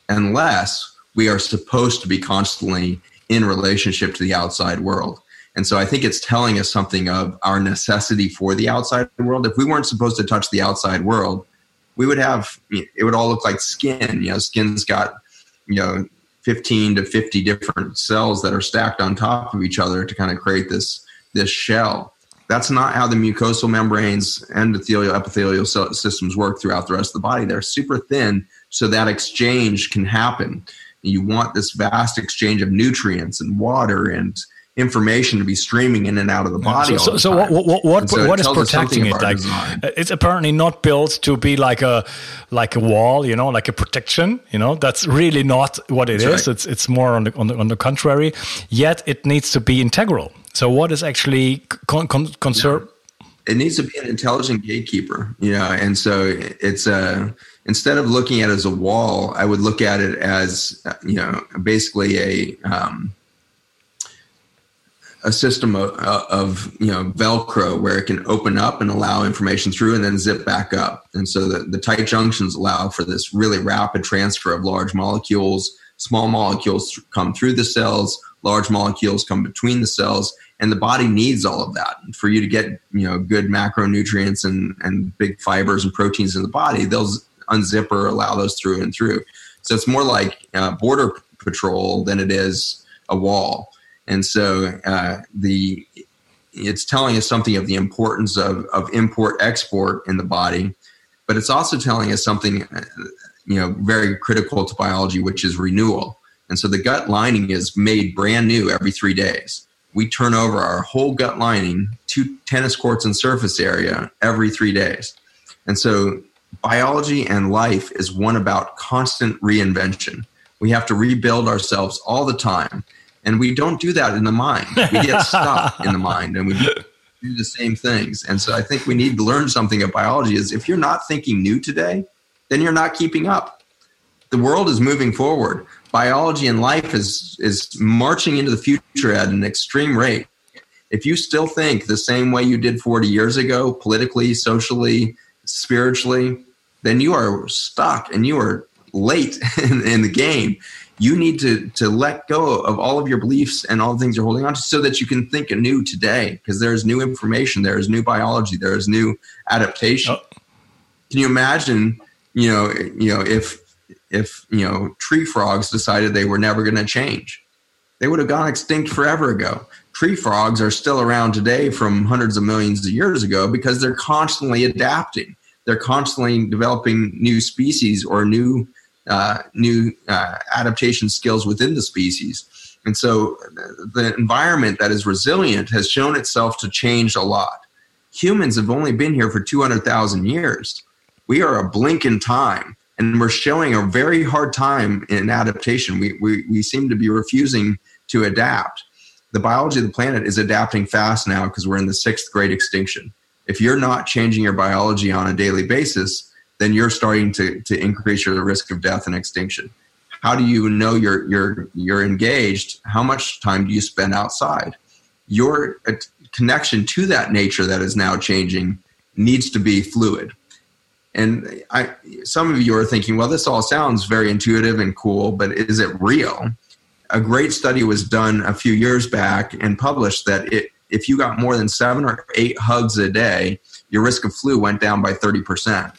unless we are supposed to be constantly in relationship to the outside world. And so I think it's telling us something of our necessity for the outside world. If we weren't supposed to touch the outside world, we would have, it would all look like skin. You know, skin's got, you know, fifteen to fifty different cells that are stacked on top of each other to kind of create this, this shell. That's not how the mucosal membranes, endothelial, epithelial systems work throughout the rest of the body. They're super thin, so that exchange can happen. You want this vast exchange of nutrients and water and information to be streaming in and out of the body. So, all the so time. what what what, so what it is protecting it? Like, it's apparently not built to be like a like a wall, you know, like a protection. You know, that's really not what it that's is. Right. It's it's more on the, on the on the contrary. Yet it needs to be integral. So what is actually con- con- conserve? It needs to be an intelligent gatekeeper, you know, and so it's a, instead of looking at it as a wall, I would look at it as, you know, basically a, um, a system of, of, you know, Velcro where it can open up and allow information through and then zip back up. And so the, the tight junctions allow for this really rapid transfer of large molecules. Small molecules come through the cells, large molecules come between the cells, and the body needs all of that. For you to get, you know, good macronutrients and, and big fibers and proteins in the body, they'll unzip or allow those through and through. So it's more like uh, border patrol than it is a wall. And so uh, the it's telling us something of the importance of, of import-export in the body, but it's also telling us something, you know, very critical to biology, which is renewal. And so the gut lining is made brand new every three days. We turn over our whole gut lining, two tennis courts and surface area every three days. And so biology and life is one about constant reinvention. We have to rebuild ourselves all the time. And we don't do that in the mind. We get stuck in the mind and we do the same things. And so I think we need to learn something of biology is if you're not thinking new today, then you're not keeping up. The world is moving forward. Biology and life is, is marching into the future at an extreme rate. If you still think the same way you did forty years ago, politically, socially, spiritually, then you are stuck and you are late in, in the game. You need to, to let go of all of your beliefs and all the things you're holding on to so that you can think anew today, because there's new information, there is new biology, there is new adaptation. Oh. Can you imagine, you know, you know, if if you know tree frogs decided they were never going to change? They would have gone extinct forever ago. Tree frogs are still around today from hundreds of millions of years ago because they're constantly adapting. They're constantly developing new species or new uh, new uh, adaptation skills within the species. And so the environment that is resilient has shown itself to change a lot. Humans have only been here for two hundred thousand years. We are a blink in time, and we're showing a very hard time in adaptation. We, we, we seem to be refusing to adapt. The biology of the planet is adapting fast now because we're in the sixth great extinction. If you're not changing your biology on a daily basis, then you're starting to, to increase your risk of death and extinction. How do you know you're, you're, you're engaged? How much time do you spend outside? Your connection to that nature that is now changing needs to be fluid. And I, some of you are thinking, well, this all sounds very intuitive and cool, but is it real? A great study was done a few years back and published that it, if you got more than seven or eight hugs a day, your risk of flu went down by thirty percent.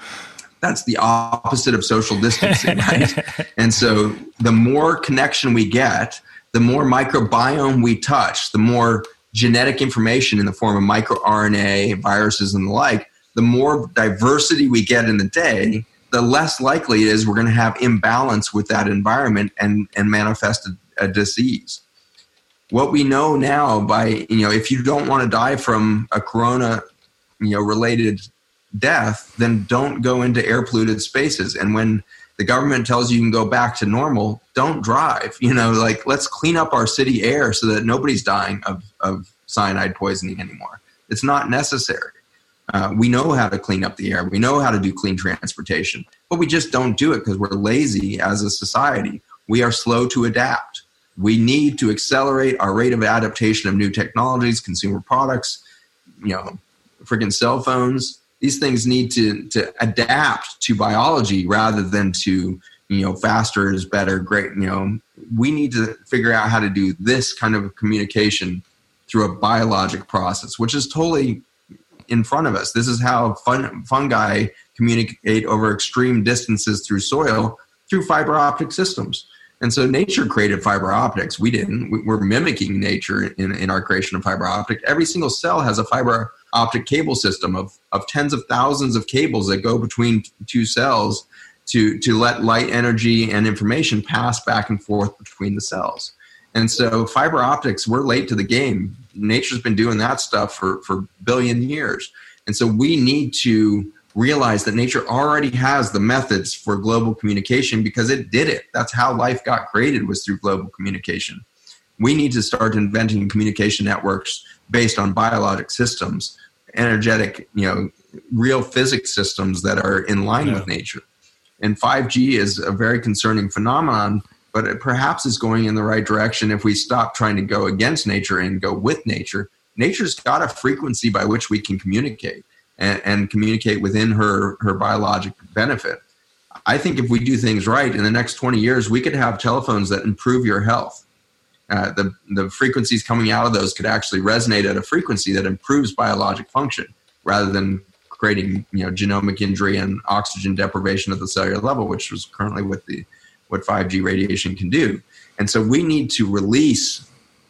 That's the opposite of social distancing, right? And so the more connection we get, the more microbiome we touch, the more genetic information in the form of microRNA, viruses, and the like, the more diversity we get in the day, the less likely it is we're going to have imbalance with that environment and, and manifest a, a disease. What we know now by, you know, if you don't want to die from a corona, you know, related death, then don't go into air polluted spaces. And when the government tells you you can go back to normal, don't drive. You know, like, let's clean up our city air so that nobody's dying of, of cyanide poisoning anymore. It's not necessary. Uh, we know how to clean up the air. We know how to do clean transportation, but we just don't do it because we're lazy as a society. We are slow to adapt. We need to accelerate our rate of adaptation of new technologies, consumer products, you know, freaking cell phones. These things need to, to adapt to biology rather than to, you know, faster is better, great. You know, we need to figure out how to do this kind of communication through a biologic process, which is totally in front of us. This is how fun, fungi communicate over extreme distances through soil, through fiber optic systems. And so nature created fiber optics. We didn't. We're mimicking nature in, in our creation of fiber optic. Every single cell has a fiber optic cable system of, of tens of thousands of cables that go between two cells to, to let light, energy, and information pass back and forth between the cells. And so fiber optics, we're late to the game. Nature's been doing that stuff for, for a billion years. And so we need to realize that nature already has the methods for global communication because it did it. That's how life got created, was through global communication. We need to start inventing communication networks based on biologic systems, energetic, you know, real physics systems that are in line yeah. with nature. And five G is a very concerning phenomenon, but it perhaps is going in the right direction if we stop trying to go against nature and go with nature. Nature's got a frequency by which we can communicate and, and communicate within her, her biologic benefit. I think if we do things right, in the next twenty years, we could have telephones that improve your health. Uh, the, the frequencies coming out of those could actually resonate at a frequency that improves biologic function rather than creating, you know, genomic injury and oxygen deprivation at the cellular level, which is currently what the what five G radiation can do. And so we need to release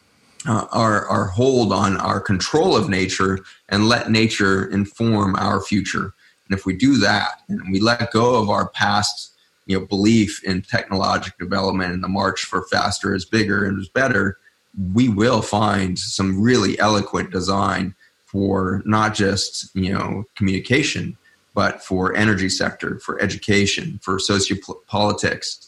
uh, our, our hold on our control of nature and let nature inform our future. And if we do that and we let go of our past, you know, belief in technological development and the march for faster is bigger and is better, we will find some really eloquent design for not just, you know, communication, but for energy sector, for education, for sociopolitics.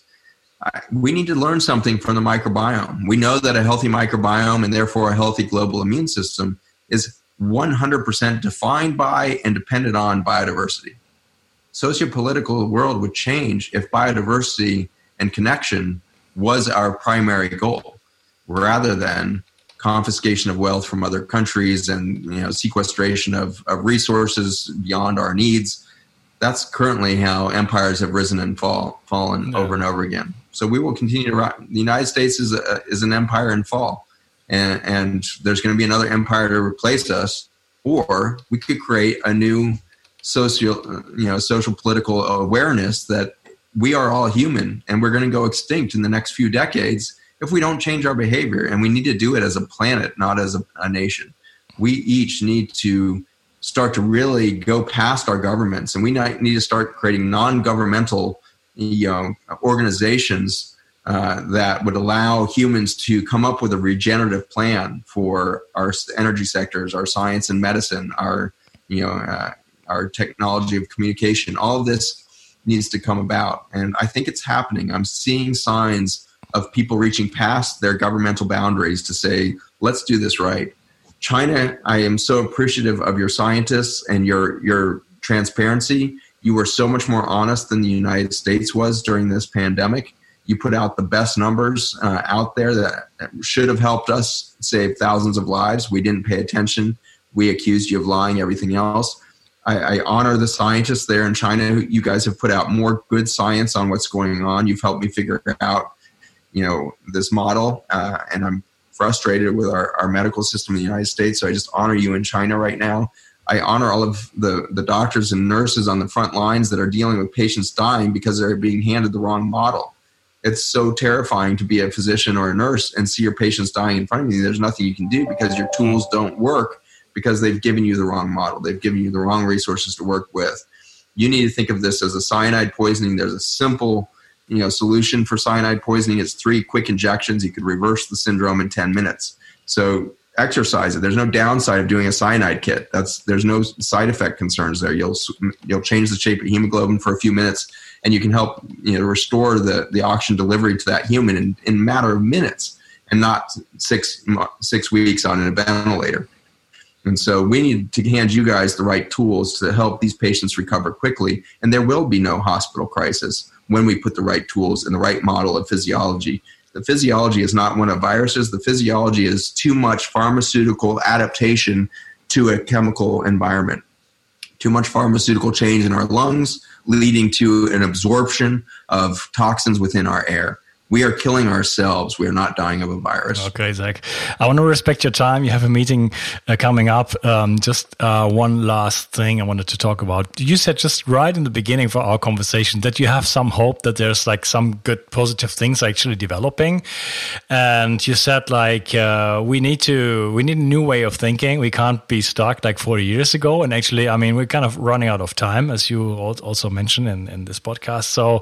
We need to learn something from the microbiome. We know that a healthy microbiome and therefore a healthy global immune system is one hundred percent defined by and dependent on biodiversity. Sociopolitical world would change if biodiversity and connection was our primary goal, rather than confiscation of wealth from other countries and, you know, sequestration of, of resources beyond our needs. That's currently how empires have risen and fall, fallen no. over and over again. So we will continue to rise. The United States is a, is an empire in fall, and, and there's going to be another empire to replace us, or we could create a new social, you know, social political awareness that we are all human and we're going to go extinct in the next few decades if we don't change our behavior. And we need to do it as a planet, not as a, a nation. We each need to start to really go past our governments, and we need to start creating non-governmental, you know, organizations uh, that would allow humans to come up with a regenerative plan for our energy sectors, our science and medicine, our, you know, uh, our technology of communication. All of this needs to come about, and I think it's happening. I'm seeing signs of people reaching past their governmental boundaries to say, let's do this right. China, I am so appreciative of your scientists and your your transparency. You were so much more honest than the United States was during this pandemic. You put out the best numbers uh, out there that should have helped us save thousands of lives. We didn't pay attention. We accused you of lying, everything else. I, I honor the scientists there in China. You guys have put out more good science on what's going on. You've helped me figure out, you know, this model, uh, and I'm frustrated with our, our medical system in the United States. So I just honor you in China right now. I honor all of the, the doctors and nurses on the front lines that are dealing with patients dying because they're being handed the wrong model. It's so terrifying to be a physician or a nurse and see your patients dying in front of you. There's nothing you can do because your tools don't work because they've given you the wrong model. They've given you the wrong resources to work with. You need to think of this as a cyanide poisoning. There's a simple, you know, solution for cyanide poisoning. It's three quick injections. You could reverse the syndrome in ten minutes. So exercise it. There's no downside of doing a cyanide kit. That's there's no side effect concerns there. You'll you'll change the shape of hemoglobin for a few minutes, and you can help, you know, restore the, the oxygen delivery to that human in, in a matter of minutes, and not six six weeks on a ventilator. And so we need to hand you guys the right tools to help these patients recover quickly, and there will be no hospital crisis when we put the right tools and the right model of physiology. The physiology is not one of viruses. The physiology is too much pharmaceutical adaptation to a chemical environment. Too much pharmaceutical change in our lungs, leading to an absorption of toxins within our air. We are killing ourselves. We are not dying of a virus. Okay, Zach. I want to respect your time. You have a meeting uh, coming up. Um, just uh, one last thing I wanted to talk about. You said just right in the beginning for our conversation that you have some hope that there's like some good positive things actually developing. And you said like uh, we need to we need a new way of thinking. We can't be stuck like forty years ago. And actually, I mean, we're kind of running out of time, as you also mentioned in, in this podcast. So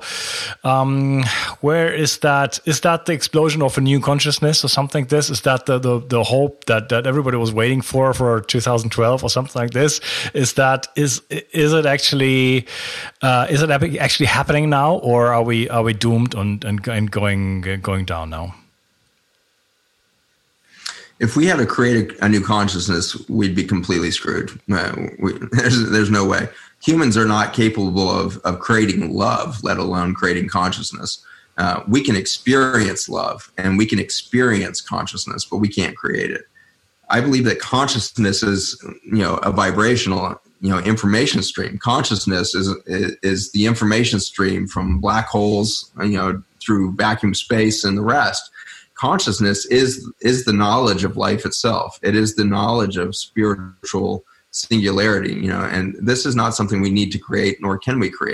um, where is that? Is that the explosion of a new consciousness or something like this? Is that the, the, the hope that, that everybody was waiting for for two thousand twelve or something like this? Is that is is it actually uh, is it actually happening now, or are we are we doomed and and, and going going down now? If we had to create a, a new consciousness, we'd be completely screwed. Uh, we, there's there's no way. Humans are not capable of of creating love, let alone creating consciousness. Uh, we can experience love and we can experience consciousness, but we can't create it. I believe that consciousness is, you know, a vibrational, you know, information stream. Consciousness is is the information stream from black holes, you know, through vacuum space and the rest. Consciousness is is the knowledge of life itself. It is the knowledge of spiritual singularity, you know, and this is not something we need to create, nor can we create.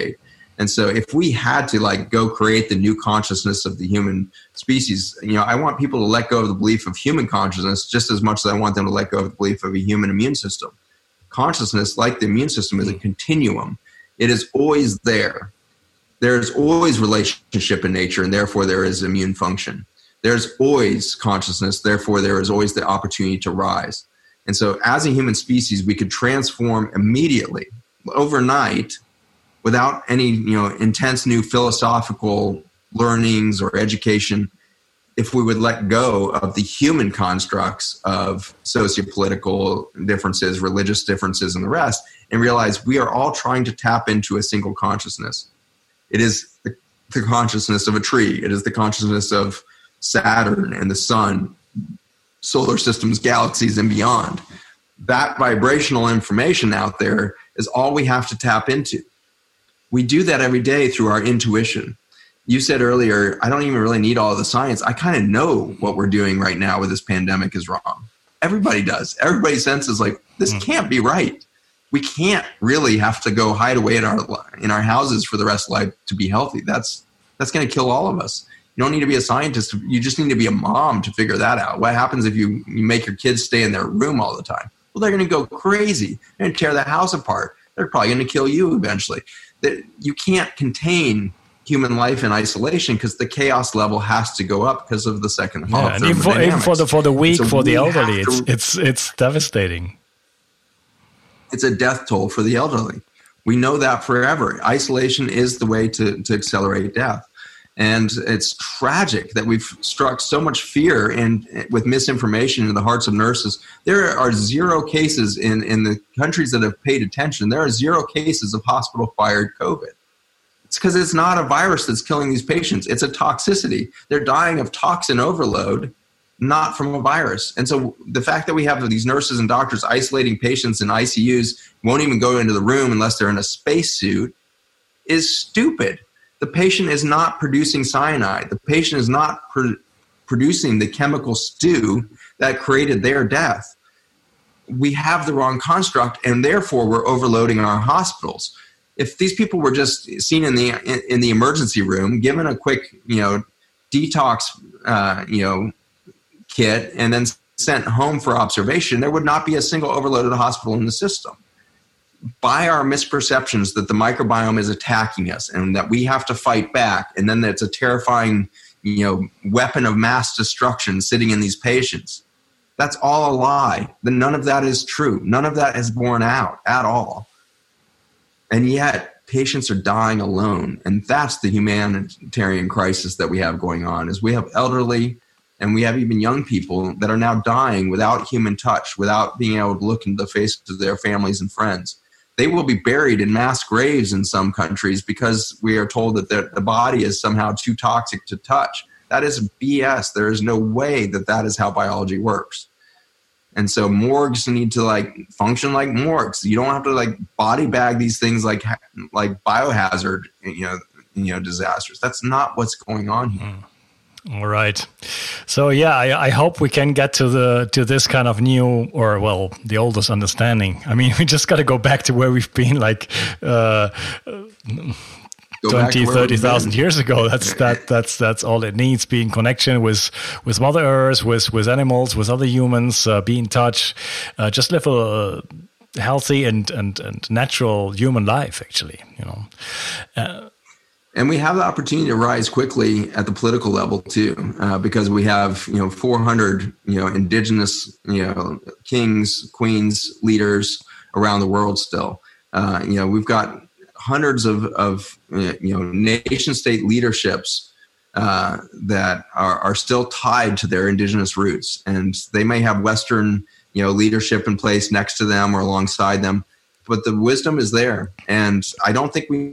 And so if we had to like go create the new consciousness of the human species, you know, I want people to let go of the belief of human consciousness just as much as I want them to let go of the belief of a human immune system. Consciousness, like the immune system, is a continuum. It is always there. There's always relationship in nature, and therefore there is immune function. There's always consciousness, therefore there is always the opportunity to rise. And so as a human species, we could transform immediately, overnight, without any, you know, intense new philosophical learnings or education, if we would let go of the human constructs of sociopolitical differences, religious differences, and the rest, and realize we are all trying to tap into a single consciousness. It is the, the consciousness of a tree. It is the consciousness of Saturn and the sun, solar systems, galaxies, and beyond. That vibrational information out there is all we have to tap into. We do that every day through our intuition. You said earlier, I don't even really need all of the science. I kind of know what we're doing right now with this pandemic is wrong. Everybody does. Everybody senses like, this can't be right. We can't really have to go hide away in our in our houses for the rest of life to be healthy. That's that's going to kill all of us. You don't need to be a scientist. You just need to be a mom to figure that out. What happens if you, you make your kids stay in their room all the time? Well, they're going to go crazy. They're going to tear the house apart. They're probably going to kill you eventually. That you can't contain human life in isolation because the chaos level has to go up because of the second law. Yeah, and even for, even for the for the weak, so for the elderly, it's it's it's devastating. It's a death toll for the elderly. We know that forever. Isolation is the way to to accelerate death, and it's tragic that we've struck so much fear and with misinformation in the hearts of nurses. There are zero cases in, in the countries that have paid attention. There are zero cases of hospital-acquired COVID. It's because it's not a virus that's killing these patients. It's a toxicity. They're dying of toxin overload, not from a virus. And so the fact that we have these nurses and doctors isolating patients in I C Us, won't even go into the room unless they're in a spacesuit, is stupid. The patient is not producing cyanide. The patient is not pr- producing the chemical stew that created their death. We have the wrong construct, and therefore we're overloading our hospitals. If these people were just seen in the in, in the emergency room, given a quick, you know, detox, uh, you know, kit, and then sent home for observation, there would not be a single overloaded hospital in the system. By our misperceptions that the microbiome is attacking us and that we have to fight back, and then that it's a terrifying, you know, weapon of mass destruction sitting in these patients. That's all a lie. Then none of that is true. None of that is borne out at all. And yet patients are dying alone. And that's the humanitarian crisis that we have going on, is we have elderly and we have even young people that are now dying without human touch, without being able to look into the faces of their families and friends. They will be buried in mass graves in some countries because we are told that the, the body is somehow too toxic to touch. That is B S. There is no way that that is how biology works. And so morgues need to like function like morgues. You don't have to like body bag these things like like biohazard, you know, you know, disasters. That's not what's going on here. Mm. All right. So yeah, I, I hope we can get to the to this kind of new, or well, the oldest understanding. I mean, we just got to go back to where we've been, like uh, twenty, thirty thousand years ago. That's that that's that's all it needs. Be in connection with with Mother Earth, with with animals, with other humans. Uh, be in touch. Uh, just live a healthy and and and natural human life. Actually, you know. Uh, And we have the opportunity to rise quickly at the political level too, uh, because we have, you know, four hundred, you know, indigenous, you know, kings, queens, leaders around the world still. Uh, you know, we've got hundreds of, of you know, nation state leaderships uh, that are, are still tied to their indigenous roots. And they may have Western, you know, leadership in place next to them or alongside them, but the wisdom is there. And I don't think we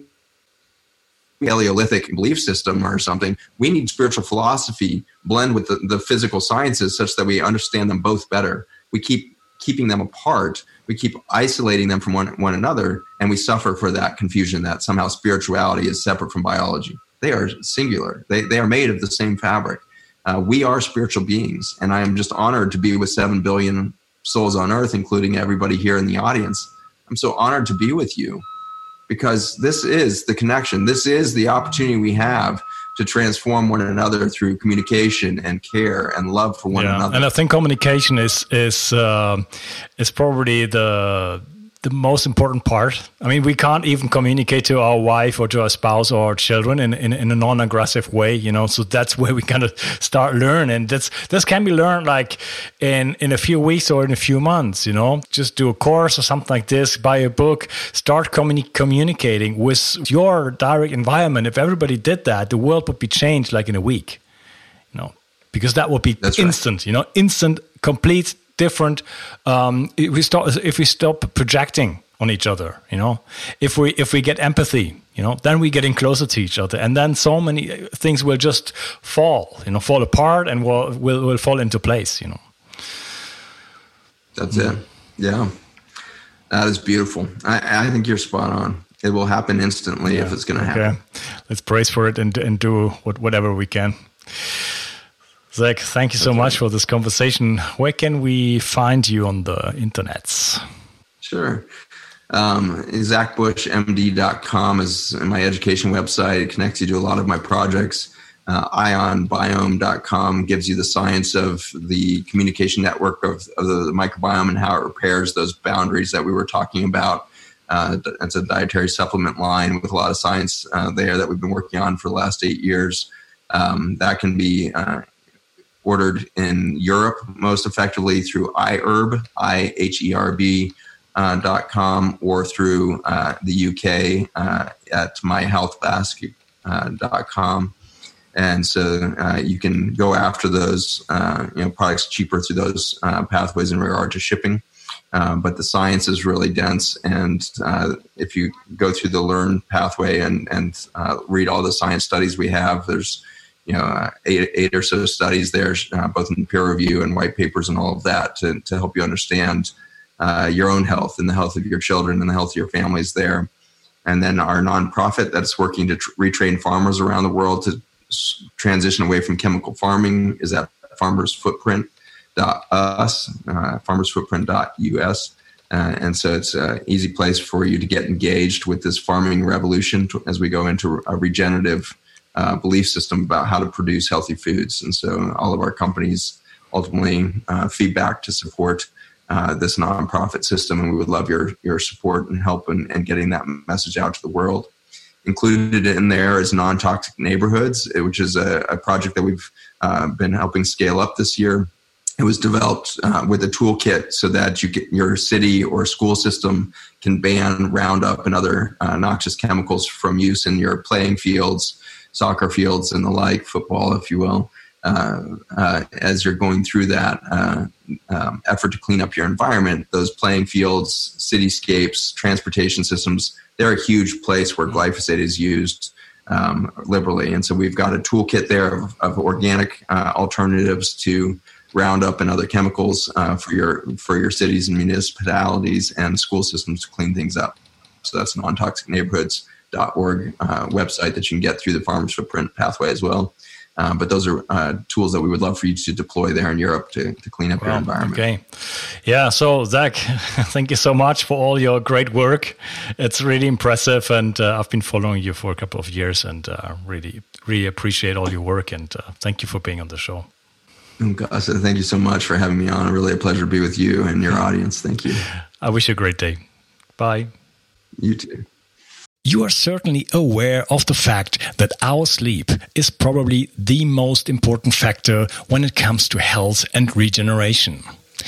Paleolithic belief system or something. We need spiritual philosophy blend with the, the physical sciences such that we understand them both better. We keep keeping them apart. We keep isolating them from one, one another, and we suffer for that confusion that somehow spirituality is separate from biology. They are singular. They, they are made of the same fabric. Uh, we are spiritual beings, and I am just honored to be with seven billion souls on earth, including everybody here in the audience. I'm so honored to be with you. because this is the connection. This is the opportunity we have to transform one another through communication and care and love for one yeah. another. And I think communication is is uh, is probably the the most important part. I mean, we can't even communicate to our wife or to our spouse or our children in, in, in a non-aggressive way, you know, so that's where we kind of start learning. That's, this can be learned like in, in a few weeks or in a few months, you know, just do a course or something like this, buy a book, start communi- communicating with your direct environment. If everybody did that, the world would be changed like in a week, you know, because that would be that's instant, right. you know, instant, complete different. Um, if we stop, if we stop projecting on each other, you know, if we if we get empathy, you know, then we're getting closer to each other, and then so many things will just fall, you know, fall apart and will will, will fall into place, you know. That's mm. it. Yeah, that is beautiful. I, I think you're spot on. It will happen instantly yeah. if it's going to happen. Okay, let's brace for it and and do what, whatever we can. Zach, thank you so okay. much for this conversation. Where can we find you on the internets? Sure. Um, zach bush m d dot com is my education website. It connects you to a lot of my projects. Uh, ion biome dot com gives you the science of the communication network of, of the microbiome and how it repairs those boundaries that we were talking about. Uh, it's a dietary supplement line with a lot of science uh, there that we've been working on for the last eight years. Um, that can be uh, ordered in Europe most effectively through iHerb, I H E R B uh, dot com, or through uh, the U K uh, at my health basket dot com. And so uh, you can go after those uh, you know, products cheaper through those uh, pathways in regard to shipping. Uh, but the science is really dense, and uh, if you go through the Learn pathway and and uh, read all the science studies we have, there's you know, uh, eight, eight or so studies there, uh, both in peer review and white papers and all of that to, to help you understand uh, your own health and the health of your children and the health of your families there. And then our nonprofit that's working to tr- retrain farmers around the world to s- transition away from chemical farming is at farmers footprint dot u s, uh, farmers footprint dot u s. Uh, and so it's an easy place for you to get engaged with this farming revolution to, as we go into a regenerative Uh, belief system about how to produce healthy foods. And so all of our companies ultimately uh, feedback to support uh, this nonprofit system, and we would love your your support and help in, in getting that message out to the world. Included in there is Non-Toxic Neighborhoods, which is a, a project that we've uh, been helping scale up this year. It was developed uh, with a toolkit so that you get, your city or school system can ban Roundup and other uh, noxious chemicals from use in your playing fields, soccer fields and the like, football, if you will, uh, uh, as you're going through that uh, um, effort to clean up your environment. Those playing fields, cityscapes, transportation systems, they're a huge place where glyphosate is used um, liberally. And so we've got a toolkit there of, of organic uh, alternatives to Roundup and other chemicals uh, for your for your cities and municipalities and school systems to clean things up. So that's non toxic neighborhoods dot org uh, website that you can get through the Farmers Footprint pathway as well. Uh, but those are uh, tools that we would love for you to deploy there in Europe to, to clean up well, your environment. Okay. Yeah. So, Zach, thank you so much for all your great work. It's really impressive. And uh, I've been following you for a couple of years and uh, really, really appreciate all your work. And uh, thank you for being on the show. Oh, gosh, thank you so much for having me on. Really a pleasure to be with you and your audience. Thank you. I wish you a great day. Bye. You too. You are certainly aware of the fact that our sleep is probably the most important factor when it comes to health and regeneration.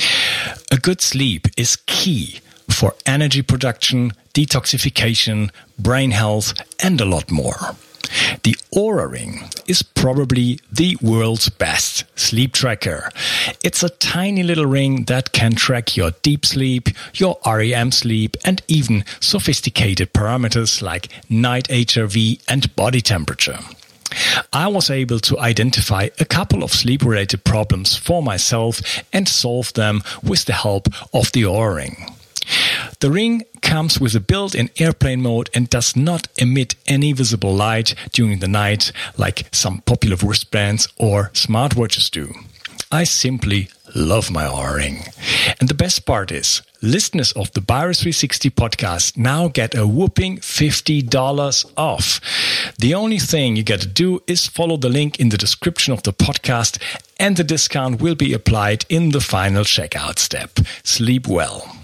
A good sleep is key for energy production, detoxification, brain health, and a lot more. The Oura Ring is probably the world's best sleep tracker. It's a tiny little ring that can track your deep sleep, your R E M sleep, and even sophisticated parameters like night H R V and body temperature. I was able to identify a couple of sleep-related problems for myself and solve them with the help of the Oura Ring. The ring comes with a built-in airplane mode and does not emit any visible light during the night like some popular wristbands or smartwatches do. I simply love my Oura Ring. And the best part is listeners of the Virus three sixty podcast now get a whopping fifty dollars off. The only thing you got to do is follow the link in the description of the podcast, and the discount will be applied in the final checkout step. Sleep well.